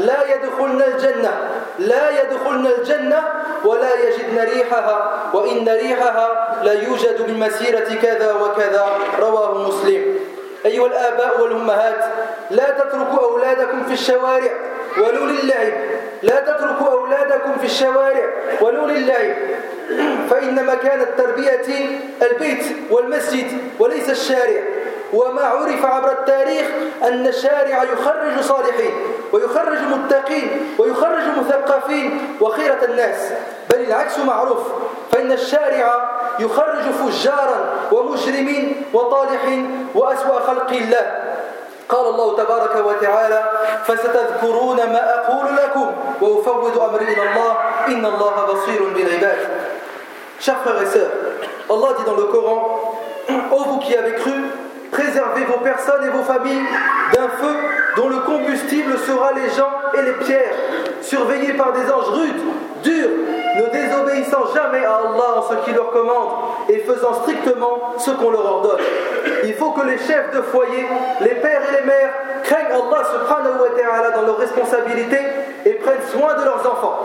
لا يدخلن الجنة ولا يجدن ريحها وإن ريحها لا يوجد من مسيرة كذا وكذا. رواه مسلم. أيها الآباء والأمهات، لا تتركوا أولادكم في الشوارع ولو للعب، لا تتركوا أولادكم في الشوارع ولو للعب، فإن مكان التربية البيت والمسجد وليس الشارع. وما عرف عبر التاريخ أن الشارع يخرج صالحين ويخرج متقين ويخرج مثقفين وخيرة الناس، بل العكس معروف، فإن الشارع يخرج فجارا ومجرمين وطالحين وأسوأ خلق الله. قال الله تبارك وتعالى: فستذكرون ما أقول لكم وأفوض أمري إلى الله إن الله بصير بالعباد. Chers frères et sœurs, Allah dit dans le Coran: ô vous qui avez cru, préservez vos personnes et vos familles d'un feu dont le combustible sera les gens et les pierres, surveillés par des anges rudes, durs, ne désobéissant jamais à Allah en ce qu'il leur commande et faisant strictement ce qu'on leur ordonne. Il faut que les chefs de foyer, les pères et les mères craignent Allah subhanahu wa ta'ala dans leurs responsabilités et prennent soin de leurs enfants,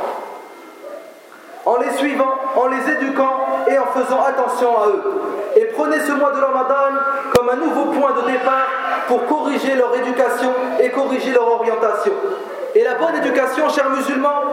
en les suivant, en les éduquant et en faisant attention à eux. Et prenez ce mois de Ramadan comme un nouveau point de départ pour corriger leur éducation et corriger leur orientation. Et la bonne éducation, chers musulmans,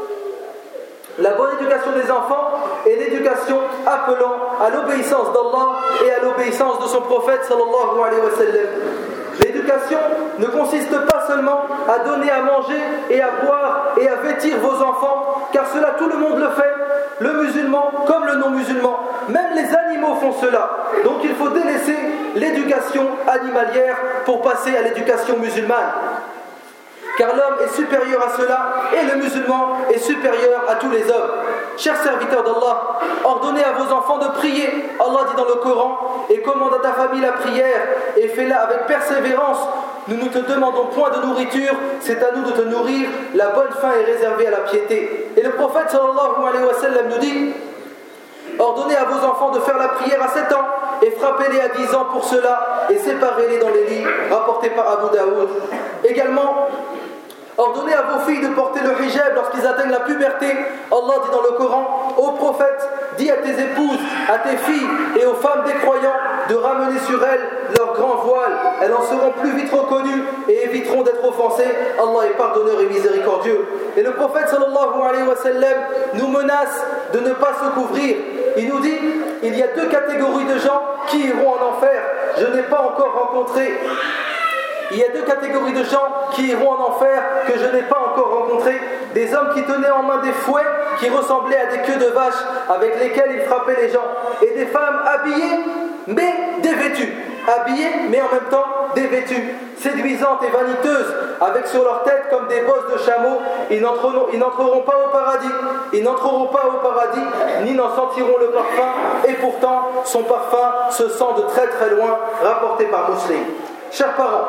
la bonne éducation des enfants est l'éducation appelant à l'obéissance d'Allah et à l'obéissance de son prophète sallallahu alayhi wa sallam. L'éducation ne consiste pas seulement à donner à manger et à boire et à vêtir vos enfants, car cela tout le monde le fait, le musulman comme le non-musulman. Même les animaux font cela. Donc il faut délaisser l'éducation animalière pour passer à l'éducation musulmane. Car l'homme est supérieur à cela et le musulman est supérieur à tous les hommes. Chers serviteurs d'Allah, ordonnez à vos enfants de prier. Allah dit dans le Coran: et commande à ta famille la prière et fais-la avec persévérance. Nous ne te demandons point de nourriture, c'est à nous de te nourrir. La bonne faim est réservée à la piété. Et le prophète sallallahu alayhi wa sallam nous dit: ordonnez à vos enfants de faire la prière à 7 ans et frappez-les à 10 ans pour cela et séparez-les dans les lits, rapporté par Abu Daoud. Également, ordonnez à vos filles de porter le hijab lorsqu'ils atteignent la puberté. Allah dit dans le Coran: ô prophète, dis à tes épouses, à tes filles et aux femmes des croyants de ramener sur elles leur grand voile. Elles en seront plus vite reconnues et éviteront d'être offensées. Allah est pardonneur et miséricordieux. Et le prophète sallallahu alayhi wa sallam nous menace de ne pas se couvrir. Il nous dit: il y a 2 catégories de gens qui iront en enfer. Je n'ai pas encore rencontré. Il y a 2 catégories de gens qui iront en enfer que je n'ai pas encore rencontrés. Des hommes qui tenaient en main des fouets qui ressemblaient à des queues de vache avec lesquelles ils frappaient les gens. Et des femmes habillées mais dévêtues. Habillées mais en même temps dévêtues. Séduisantes et vaniteuses avec sur leur tête comme des bosses de chameaux. Ils n'entreront pas au paradis. Ils n'entreront pas au paradis ni n'en sentiront le parfum. Et pourtant son parfum se sent de très très loin, rapporté par Muslim. Chers parents,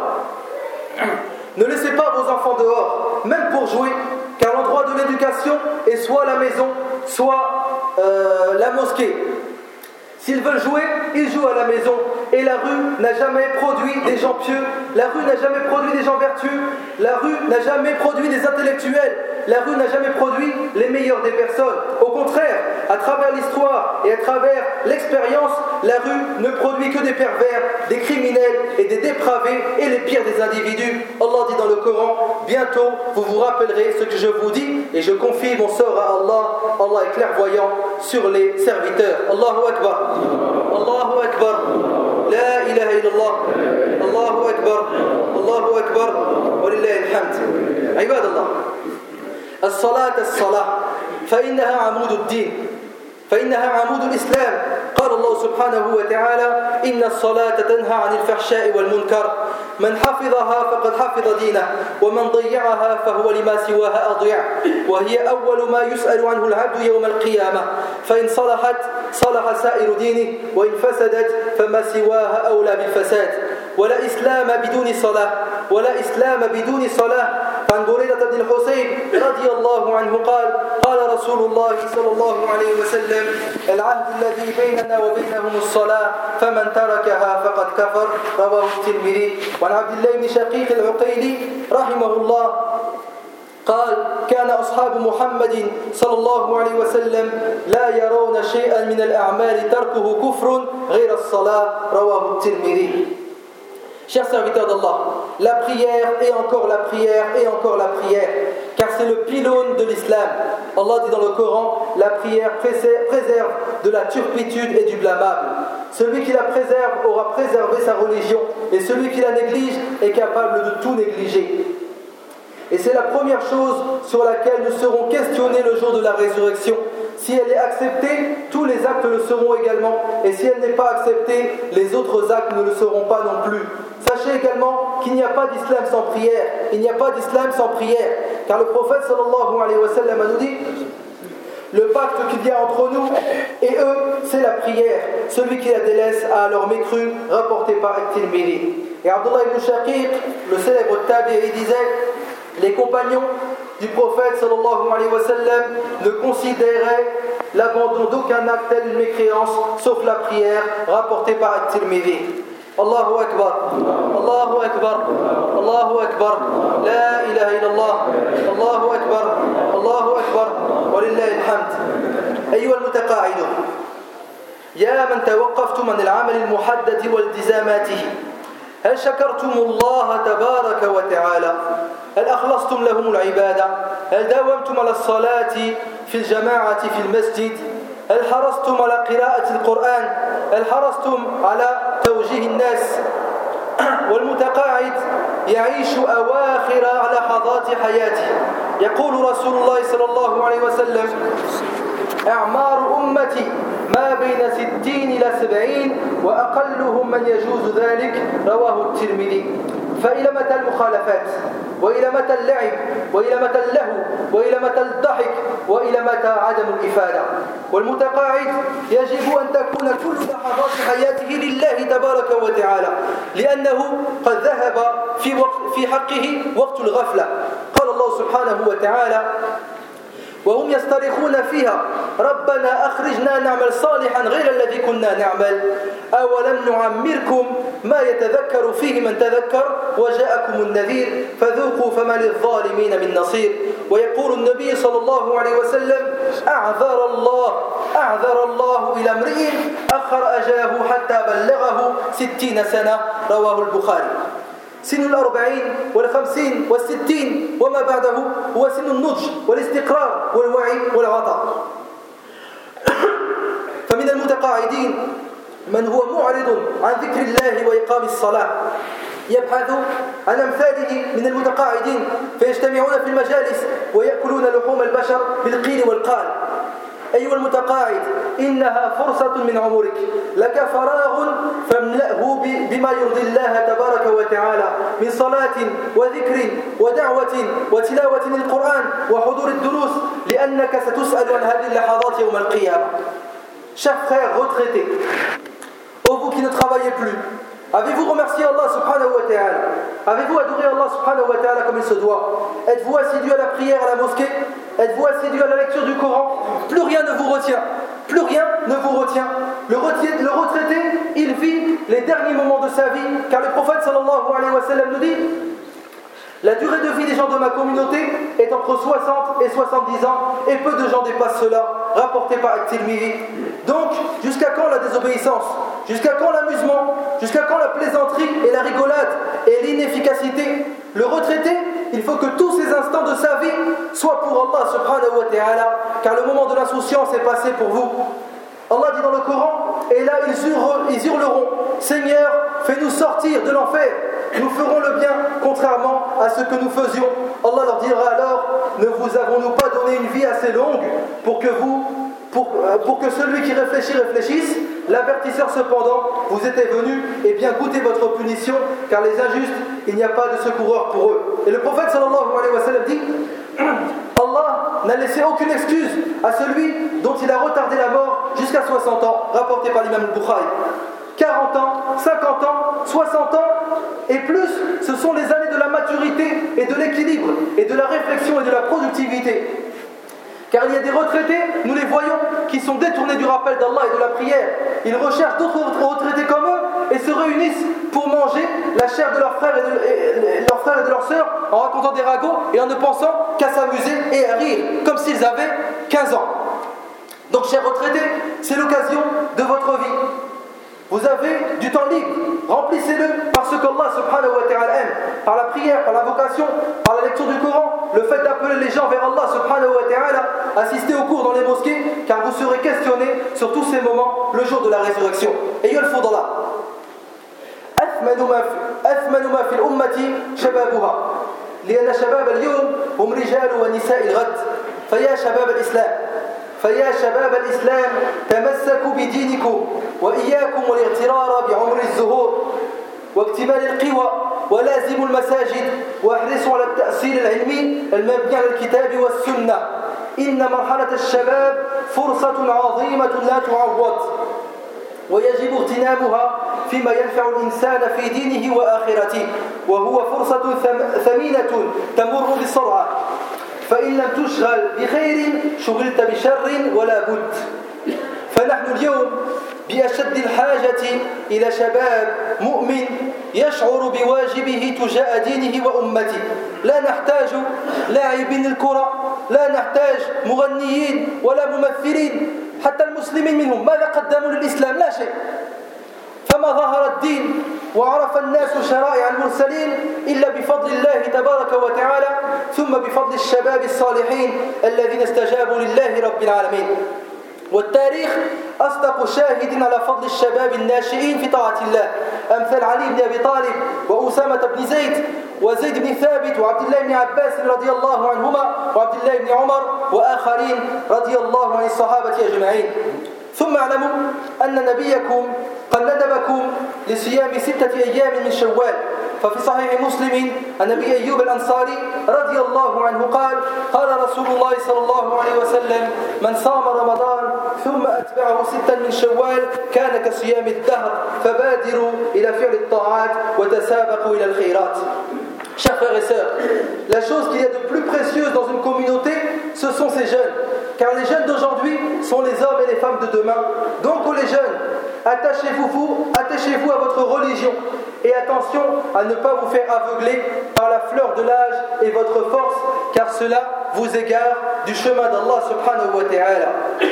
ne laissez pas vos enfants dehors, même pour jouer, car l'endroit de l'éducation est soit la maison, soit la mosquée. S'ils veulent jouer, ils jouent à la maison. Et la rue n'a jamais produit des gens pieux, la rue n'a jamais produit des gens vertueux, la rue n'a jamais produit des intellectuels, la rue n'a jamais produit les meilleurs des personnes. Au contraire, à travers l'histoire et à travers l'expérience, la rue ne produit que des pervers, des criminels et des dépravés et les pires des individus. Allah dit dans le Coran, bientôt vous vous rappellerez ce que je vous dis et je confie mon sort à Allah. Allah est clairvoyant sur les serviteurs. Allahu Akbar. Allahu Akbar. La ilaha illallah. Allahu Akbar. Allahu Akbar. Walillahi alhamd. Ibadallah. الصلاة فإنها عمود الدين فإنها عمود الإسلام قال الله سبحانه وتعالى إن الصلاة تنهى عن الفحشاء والمنكر من حفظها فقد حفظ دينه ومن ضيعها فهو لما سواها أضيع وهي أول ما يسأل عنه العبد يوم القيامة فإن صلحت صلح سائر دينه وإن فسدت فما سواها أولى بالفساد ولا إسلام بدون صلاة ولا إسلام بدون صلاة عن بريدة بن الحصيب رضي الله عنه قال رسول الله صلى الله عليه وسلم العهد الذي بيننا وبينهم الصلاة فمن تركها فقد كفر رواه الترمذي وعن عبد الله بن شقيق العقيلي رحمه الله قال كان أصحاب محمد صلى الله عليه وسلم لا يرون شيئا من الأعمال تركه كفر غير الصلاة رواه الترمذي. Chers serviteurs d'Allah, la prière et encore la prière et encore la prière, car c'est le pylône de l'islam. Allah dit dans le Coran, la prière préserve de la turpitude et du blâmable. Celui qui la préserve aura préservé sa religion, et celui qui la néglige est capable de tout négliger. Et c'est la première chose sur laquelle nous serons questionnés le jour de la résurrection. Si elle est acceptée, tous les actes le seront également. Et si elle n'est pas acceptée, les autres actes ne le seront pas non plus. Sachez également qu'il n'y a pas d'islam sans prière. Il n'y a pas d'islam sans prière. Car le prophète sallallahu alayhi wa sallam nous dit, le pacte qu'il y a entre nous et eux, c'est la prière. Celui qui la délaisse a alors mécru, rapporté par At-Tirmidhi. Et Abdullah ibn Shaqiq, le célèbre tabi'i, disait, les compagnons du prophète sallallahu alayhi wa sallam ne considéraient l'abandon d'aucun acte tel une mécréance sauf la prière rapportée par At-Tirmidhi. Allahu Akbar, Allahu Akbar, Allahu Akbar, La ilaha illallah, Allahu Akbar, Allahu Akbar, walillahi alhamd. أيها المتقاعدون يا من توقفتم عن العمل المحدد والتزاماته هل شكرتم الله تبارك وتعالى؟ هل أخلصتم لهم العبادة؟ هل داومتم على الصلاة في الجماعة في المسجد؟ هل حرصتم على قراءة القرآن؟ هل حرصتم على توجيه الناس؟ والمتقاعد يعيش أواخر لحظات حياته. يقول رسول الله صلى الله عليه وسلم أعمار أمتي ما بين 60 إلى 70 وأقلهم من يجوز ذلك رواه الترمذي. فإلى متى المخالفات؟ وإلى متى اللعب؟ وإلى متى اللهو؟ وإلى متى الضحك؟ وإلى متى عدم الإفادة؟ والمتقاعد يجب أن تكون كل لحظات حياته لله تبارك وتعالى لأنه قد ذهب في حقه وقت الغفلة. قال الله سبحانه وتعالى وهم يصطرخون فيها ربنا أخرجنا نعمل صالحا غير الذي كنا نعمل أولم نعمركم ما يتذكر فيه من تذكر وجاءكم النذير فذوقوا فما للظالمين من نصير. ويقول النبي صلى الله عليه وسلم أعذر الله إلى امرئ أخر أجله حتى بلغه 60 سنة رواه البخاري. سن 40 وال50 وال60 وما بعده هو سن النضج والاستقرار والوعي والعطاء. فمن المتقاعدين من هو معرض عن ذكر الله وإقام الصلاة يبحث عن أمثاله من المتقاعدين فيجتمعون في المجالس ويأكلون لحوم البشر بالقيل والقال. أيها المتقاعد إنها فرصة من عمرك لك فراغ فاملأه بما يرضي الله تبارك وتعالى من صلاة وذكر ودعوة وتلاوة للقرآن وحضور الدروس لأنك ستسأل عن هذه اللحظات يوم القيامة. Chers frères retraités, ô vous qui ne travaillez plus, avez-vous remercié Allah subhanahu wa ta'ala? Avez-vous adoré Allah subhanahu wa ta'ala comme il se doit? Êtes-vous assidu à la prière à la mosquée? Êtes-vous assidu à la lecture du Coran? Plus rien ne vous retient. Plus rien ne vous nous retient. Le retraité, il vit les derniers moments de sa vie, car le prophète sallallahu alayhi wa sallam nous dit: la durée de vie des gens de ma communauté est entre 60 et 70 ans, et peu de gens dépassent cela, rapporté par At-Tirmidhi. Donc, jusqu'à quand la désobéissance? Jusqu'à quand l'amusement? Jusqu'à quand la plaisanterie et la rigolade et l'inefficacité? Le retraité, il faut que tous ces instants de sa vie soient pour Allah subhanahu wa ta'ala, car le moment de l'insouciance est passé pour vous. Allah dit dans le Coran, et là ils hurleront: Seigneur, fais-nous sortir de l'enfer, nous ferons le bien contrairement à ce que nous faisions. Allah leur dira alors: ne vous avons-nous pas donné une vie assez longue pour que celui qui réfléchisse? L'avertisseur cependant vous était venu, et bien goûtez votre punition, car les injustes, il n'y a pas de secoureur pour eux. Et le prophète sallallahu alayhi wa sallam dit: Allah n'a laissé aucune excuse à celui dont il a retardé la mort jusqu'à 60 ans, rapporté par l'imam al-Bukhari. 40 ans, 50 ans, 60 ans et plus, ce sont les années de la maturité et de l'équilibre et de la réflexion et de la productivité. Car il y a des retraités, nous les voyons, qui sont détournés du rappel d'Allah et de la prière. Ils recherchent d'autres retraités comme eux et se réunissent pour manger la chair de leurs frères et de leurs sœurs en racontant des ragots et en ne pensant qu'à s'amuser et à rire, comme s'ils avaient 15 ans. Donc, chers retraités, c'est l'occasion de votre vie. Vous avez du temps libre, remplissez-le par ce qu'Allah subhanahu wa ta'ala aime, par la prière, par l'invocation, par la lecture du Coran, le fait d'appeler les gens vers Allah subhanahu wa ta'ala, assister aux cours dans les mosquées, car vous serez questionnés sur tous ces moments le jour de la résurrection. Ayez le fadla. أثمن ما في الأمة شبابها لأن شباب اليوم هم رجال ونساء الغد فيا شباب الإسلام تمسكوا بدينكم وإياكم والاغترار بعمر الزهور واكتمال القوى ولازموا المساجد واحرصوا على التأصيل العلمي المبني على الكتاب والسنة. إن مرحلة الشباب فرصة عظيمة لا تعوض ويجب اغتنامها فيما ينفع الإنسان في دينه وآخرته، وهو فرصة ثمينة تمر بسرعة، فإن لم تشغل بخير شغلت بشر ولا بد. فنحن اليوم بأشد الحاجة إلى شباب مؤمن يشعر بواجبه تجاه دينه وأمته. لا نحتاج لاعبين الكرة، لا نحتاج مغنيين ولا ممثلين، حتى المسلمين منهم ماذا قدموا للإسلام؟ لا شيء. فما ظهر الدين وعرف الناس شرائع المرسلين إلا بفضل الله تبارك وتعالى، ثم بفضل الشباب الصالحين الذين استجابوا لله رب العالمين. والتاريخ أصدق شاهد على فضل الشباب الناشئين في طاعة الله، أمثال علي بن أبي طالب وأسامة بن زيد وزيد بن ثابت وعبد الله بن عباس رضي الله عنهما وعبد الله بن عمر وآخرين رضي الله عن الصحابة أجمعين. ثم اعلموا أن نبيكم قد ندبكم لصيام 6 أيام من شوال، ففي صحيح مسلم عن أبي أيوب الأنصاري رضي الله عنه قال رسول الله صلى الله عليه وسلم: من صام رمضان ثم أتبعه 6 من شوال كان كصيام الدهر، فبادروا إلى فعل الطاعات وتسابقوا إلى الخيرات. Chers frères et sœurs, la chose qu'il y a de plus précieuse dans une communauté, ce sont ces jeunes. Car les jeunes d'aujourd'hui sont les hommes et les femmes de demain. Donc, les jeunes, attachez-vous à votre religion. Et attention à ne pas vous faire aveugler par la fleur de l'âge et votre force, car cela vous égare du chemin d'Allah subhanahu wa ta'ala.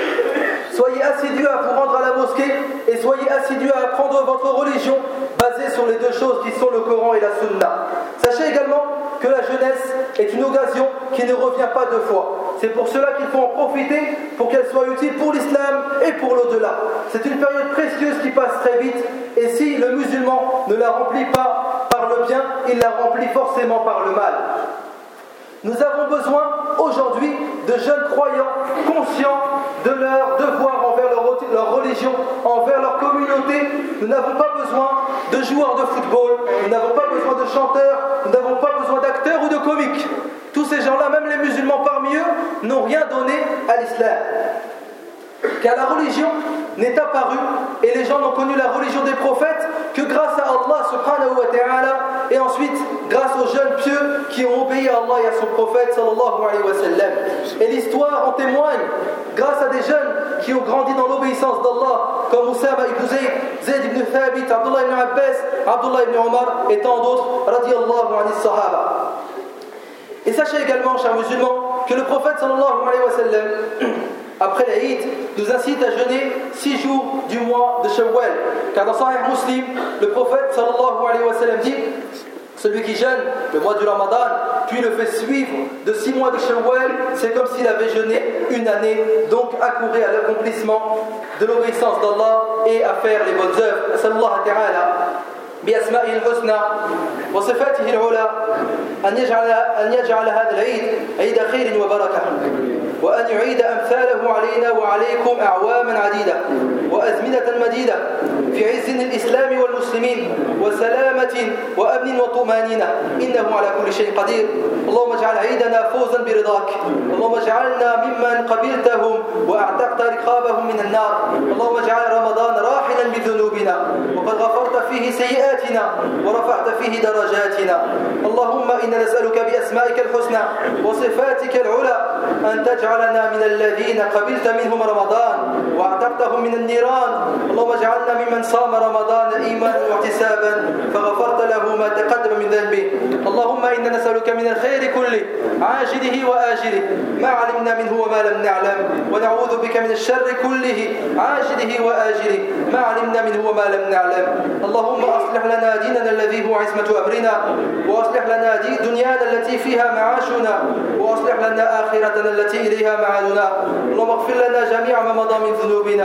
Soyez assidus à vous rendre à la mosquée et soyez assidus à apprendre votre religion basée sur les deux choses qui sont le Coran et la Sunna. Sachez également que la jeunesse est une occasion qui ne revient pas deux fois. C'est pour cela qu'il faut en profiter pour qu'elle soit utile pour l'islam et pour l'au-delà. C'est une période précieuse qui passe très vite, et si le musulman ne la remplit pas par le bien, il la remplit forcément par le mal. Nous avons besoin aujourd'hui de jeunes croyants conscients de leur devoir envers leur religion, envers leur communauté. Nous n'avons pas besoin de joueurs de football, nous n'avons pas besoin de chanteurs, nous n'avons pas besoin d'acteurs ou de comiques. Tous ces gens-là, même les musulmans parmi eux, n'ont rien donné à l'islam. car la religion n'est apparue et les gens n'ont connu la religion des prophètes que grâce à Allah subhanahu wa ta'ala et ensuite grâce aux jeunes pieux qui ont obéi à Allah et à son prophète sallallahu alayhi wa sallam. Et l'histoire en témoigne grâce à des jeunes qui ont grandi dans l'obéissance d'Allah comme Oussama ibn Zayd, Zayd ibn Thabit, Abdullah ibn Abbas, Abdullah ibn Omar et tant d'autres radiyallahu anis sahaba. Et sachez également, chers musulmans, que le prophète sallallahu alayhi wa sallam après l'Aïd, nous incite à jeûner 6 jours du mois de Shawwal. Car dans Sahih Muslim, le prophète sallallahu alayhi wa sallam dit: celui qui jeûne le mois du Ramadan, puis le fait suivre de 6 mois de Shawwal, c'est comme s'il avait jeûné une année, donc accourir à l'accomplissement de l'obéissance d'Allah et à faire les bonnes œuvres. Sallallahu ta'ala بأسمائه الحسنى وصفاته العلى أن يجعل هذا العيد عيد خير وبركة وأن يعيد أمثاله علينا وعليكم أعواما عديدة وأزمنة مديدة في عز الإسلام والمسلمين وسلامة وأمن وطمأنينة إنه على كل شيء قدير. اللهم اجعل عيدنا فوزا برضاك، اللهم اجعلنا ممن قبلتهم وأعتقت رقابهم من النار، اللهم اجعل رمضان راحلا بذنوبنا وقد غفرت فيه سيئاتنا ورفعت فيه درجاتنا. اللهم إنا نسألك بأسمائك الحسنى وصفاتك العلى أن تجعلنا من الذين قبلت منهم رمضان واعتقتهم من النيران. اللهم اجعلنا ممن صام رمضان إيمانا واحتسابا فغفرت له ما تقدم من ذنبه. اللهم إنا نسألك من الخير كله عاجله وآجله ما علمنا منه وما لم نعلم، ونعوذ بك من الشر كله عاجله وآجله ما علمنا منه وما لم نعلم. اللهم أصلح لنا ديننا الذي هو عصمة أمرنا، وأصلح لنا دنيانا التي فيها معاشنا، وأصلح لنا آخرتنا التي إليها معادنا. اللهم اغفر لنا جميع ما مضى من ذنوبنا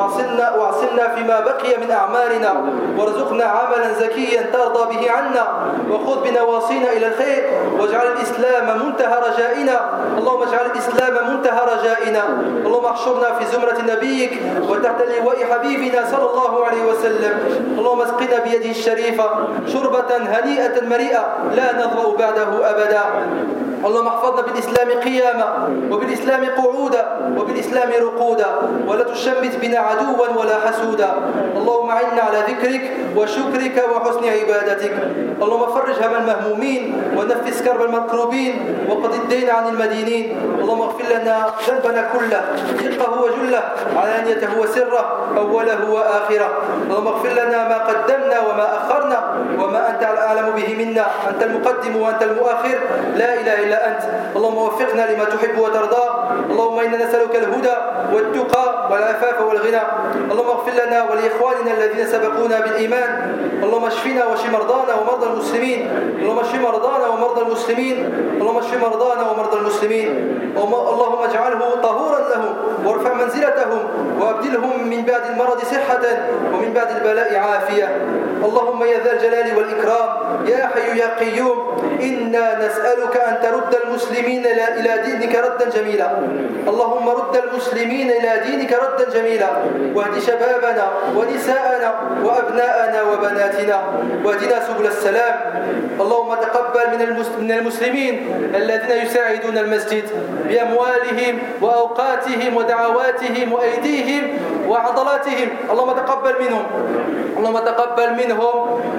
واعصمنا فيما بقي من أعمالنا، وارزقنا عملا زكيا ترضى به عنا، وخذ بنواصينا إلى الخير، واجعل الإسلام منتهى رجائنا. اللهم اجعل الإسلام منتهى رجائنا. اللهم احشرنا في زمرة نبيك وتحت لواء حبيبنا صلى الله عليه وسلم. اللهم اسقنا بيده الشريفة شربة هنيئة مريئة لا نظمأ بعده أبدا. اللهم احفظنا بالإسلام قياما وبالإسلام قعودا وبالإسلام رقودا، ولا تشمت بنا عدوا ولا حسودا. اللهم أعنا على ذكرك وشكرك وحسن عبادتك. اللهم فرج هم المهمومين ونفس كرب المكروبين وقض الدين عن المدينين. اللهم اغفر لنا ذنبنا كله دقه وجله علانيته وسره أوله وآخره. اللهم اغفر لنا ما قدمنا وما أخرنا وما أنت أعلم به منا، أنت المقدم وأنت المؤخر، لا إله إلا أنت. اللهم وفقنا لما تحب وترضى. اللهم إنا نسألك الهدى والتقى والعفاف والغنى. اللهم اغفر لنا ولإخواننا الذين سبقونا بالإيمان. اللهم اشفنا واشف مرضانا ومرضى المسلمين. اللهم اشف مرضانا ومرضى المسلمين. اللهم اشف مرضانا ومرضى المسلمين. اللهم اجعله طهورا لهم وارفع منزلتهم وابدلهم من بعد المرض صحة ومن بعد البلاء عافية. اللهم يا ذا الجلال والإكرام يا حي يا قيوم، إنا نسألك أن ترد المسلمين إلى دينك ردا جميلا. اللهم رد المسلمين إلى دينك ردا جميلا، واهد شبابنا ونساءنا وأبناءنا وبناتنا، واهدنا سبل السلام. اللهم تقبل من المسلمين الذين يساعدون المسجد بأموالهم وأوقاتهم ودعواتهم وأيديهم وعضلاتهم. اللهم تقبل منهم، اللهم تقبل منهم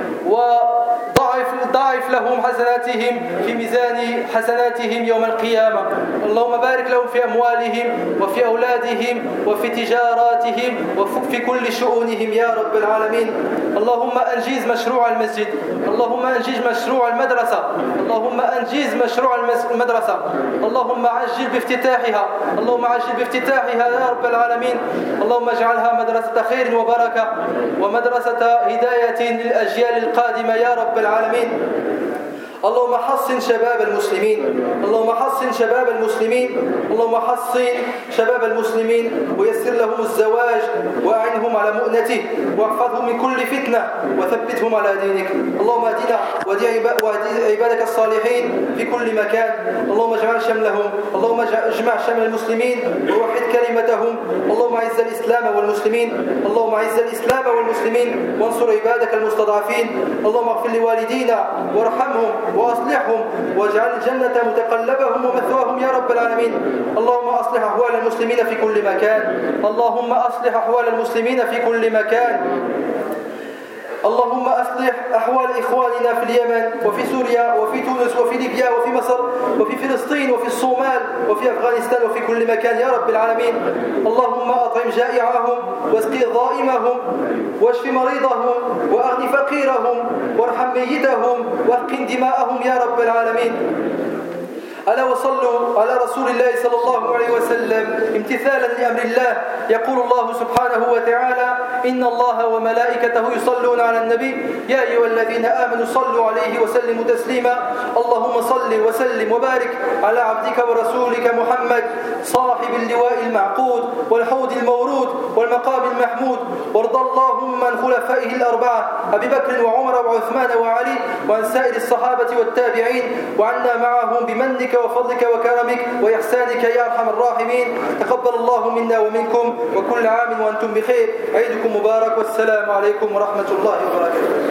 وضاعف لهم حسناتهم في ميزان حسناتهم يوم القيامة. اللهم بارك لهم في أموالهم وفي أولادهم وفي تجاراتهم وفي كل شؤونهم يا رب العالمين. اللهم أنجز مشروع المسجد، اللهم أنجز مشروع المدرسة، اللهم أنجز مشروع المدرسة، اللهم عجل بافتتاحها، اللهم عجل بافتتاحها يا رب العالمين. اللهم اجعلها مدرسة خير وبركة ومدرسة هداية للأجيال القادمة يا رب العالمين. اللهم حصن شباب المسلمين، اللهم حصن شباب المسلمين، اللهم حصن شباب المسلمين ويسر لهم الزواج وأعنهم على مؤنته واحفظهم من كل فتنة وثبتهم على دينك. اللهم اهدنا واهد عبادك الصالحين في كل مكان. اللهم اجمع شملهم، اللهم اجمع شمل المسلمين ووحد كلمتهم. اللهم اللهم أعز الإسلام والمسلمين اللهم أعز الإسلام والمسلمين وانصر عبادك المستضعفين اللهم اغفر لوالدينا وارحمهم وأصلحهم واجعل الجنة متقلبهم ومثواهم يا رب العالمين. اللهم أصلح أحوال المسلمين في كل مكان اللهم أصلح أحوال المسلمين في كل مكان. اللهم أصلح أحوال إخواننا في اليمن وفي سوريا وفي تونس وفي ليبيا وفي مصر وفي فلسطين وفي الصومال وفي أفغانستان وفي كل مكان يا رب العالمين. اللهم أطعم جائعهم واسقي ضائمهم واشف مريضهم وأغن فقيرهم وارحم ميتهم واسقن دماءهم يا رب العالمين. ألا وصلوا على رسول الله صلى الله عليه وسلم امتثالا لأمر الله. يقول الله سبحانه وتعالى إن الله وملائكته يصلون على النبي يا أيها الذين آمنوا صلوا عليه وسلموا تسليما. اللهم صل وسلم وبارك على عبدك ورسولك محمد صاحب اللواء المعقود والحوض المورود والمقام المحمود. وارض اللهم عن خلفائه الأربعة أبي بكر وعمر وعثمان وعلي وعن سائر الصحابة والتابعين وعنا معهم بمنك وفضلك وكرمك وإحسانك يا أرحم الراحمين. تقبل الله منا ومنكم وكل عام وأنتم بخير. عيدكم مبارك والسلام عليكم ورحمة الله وبركاته.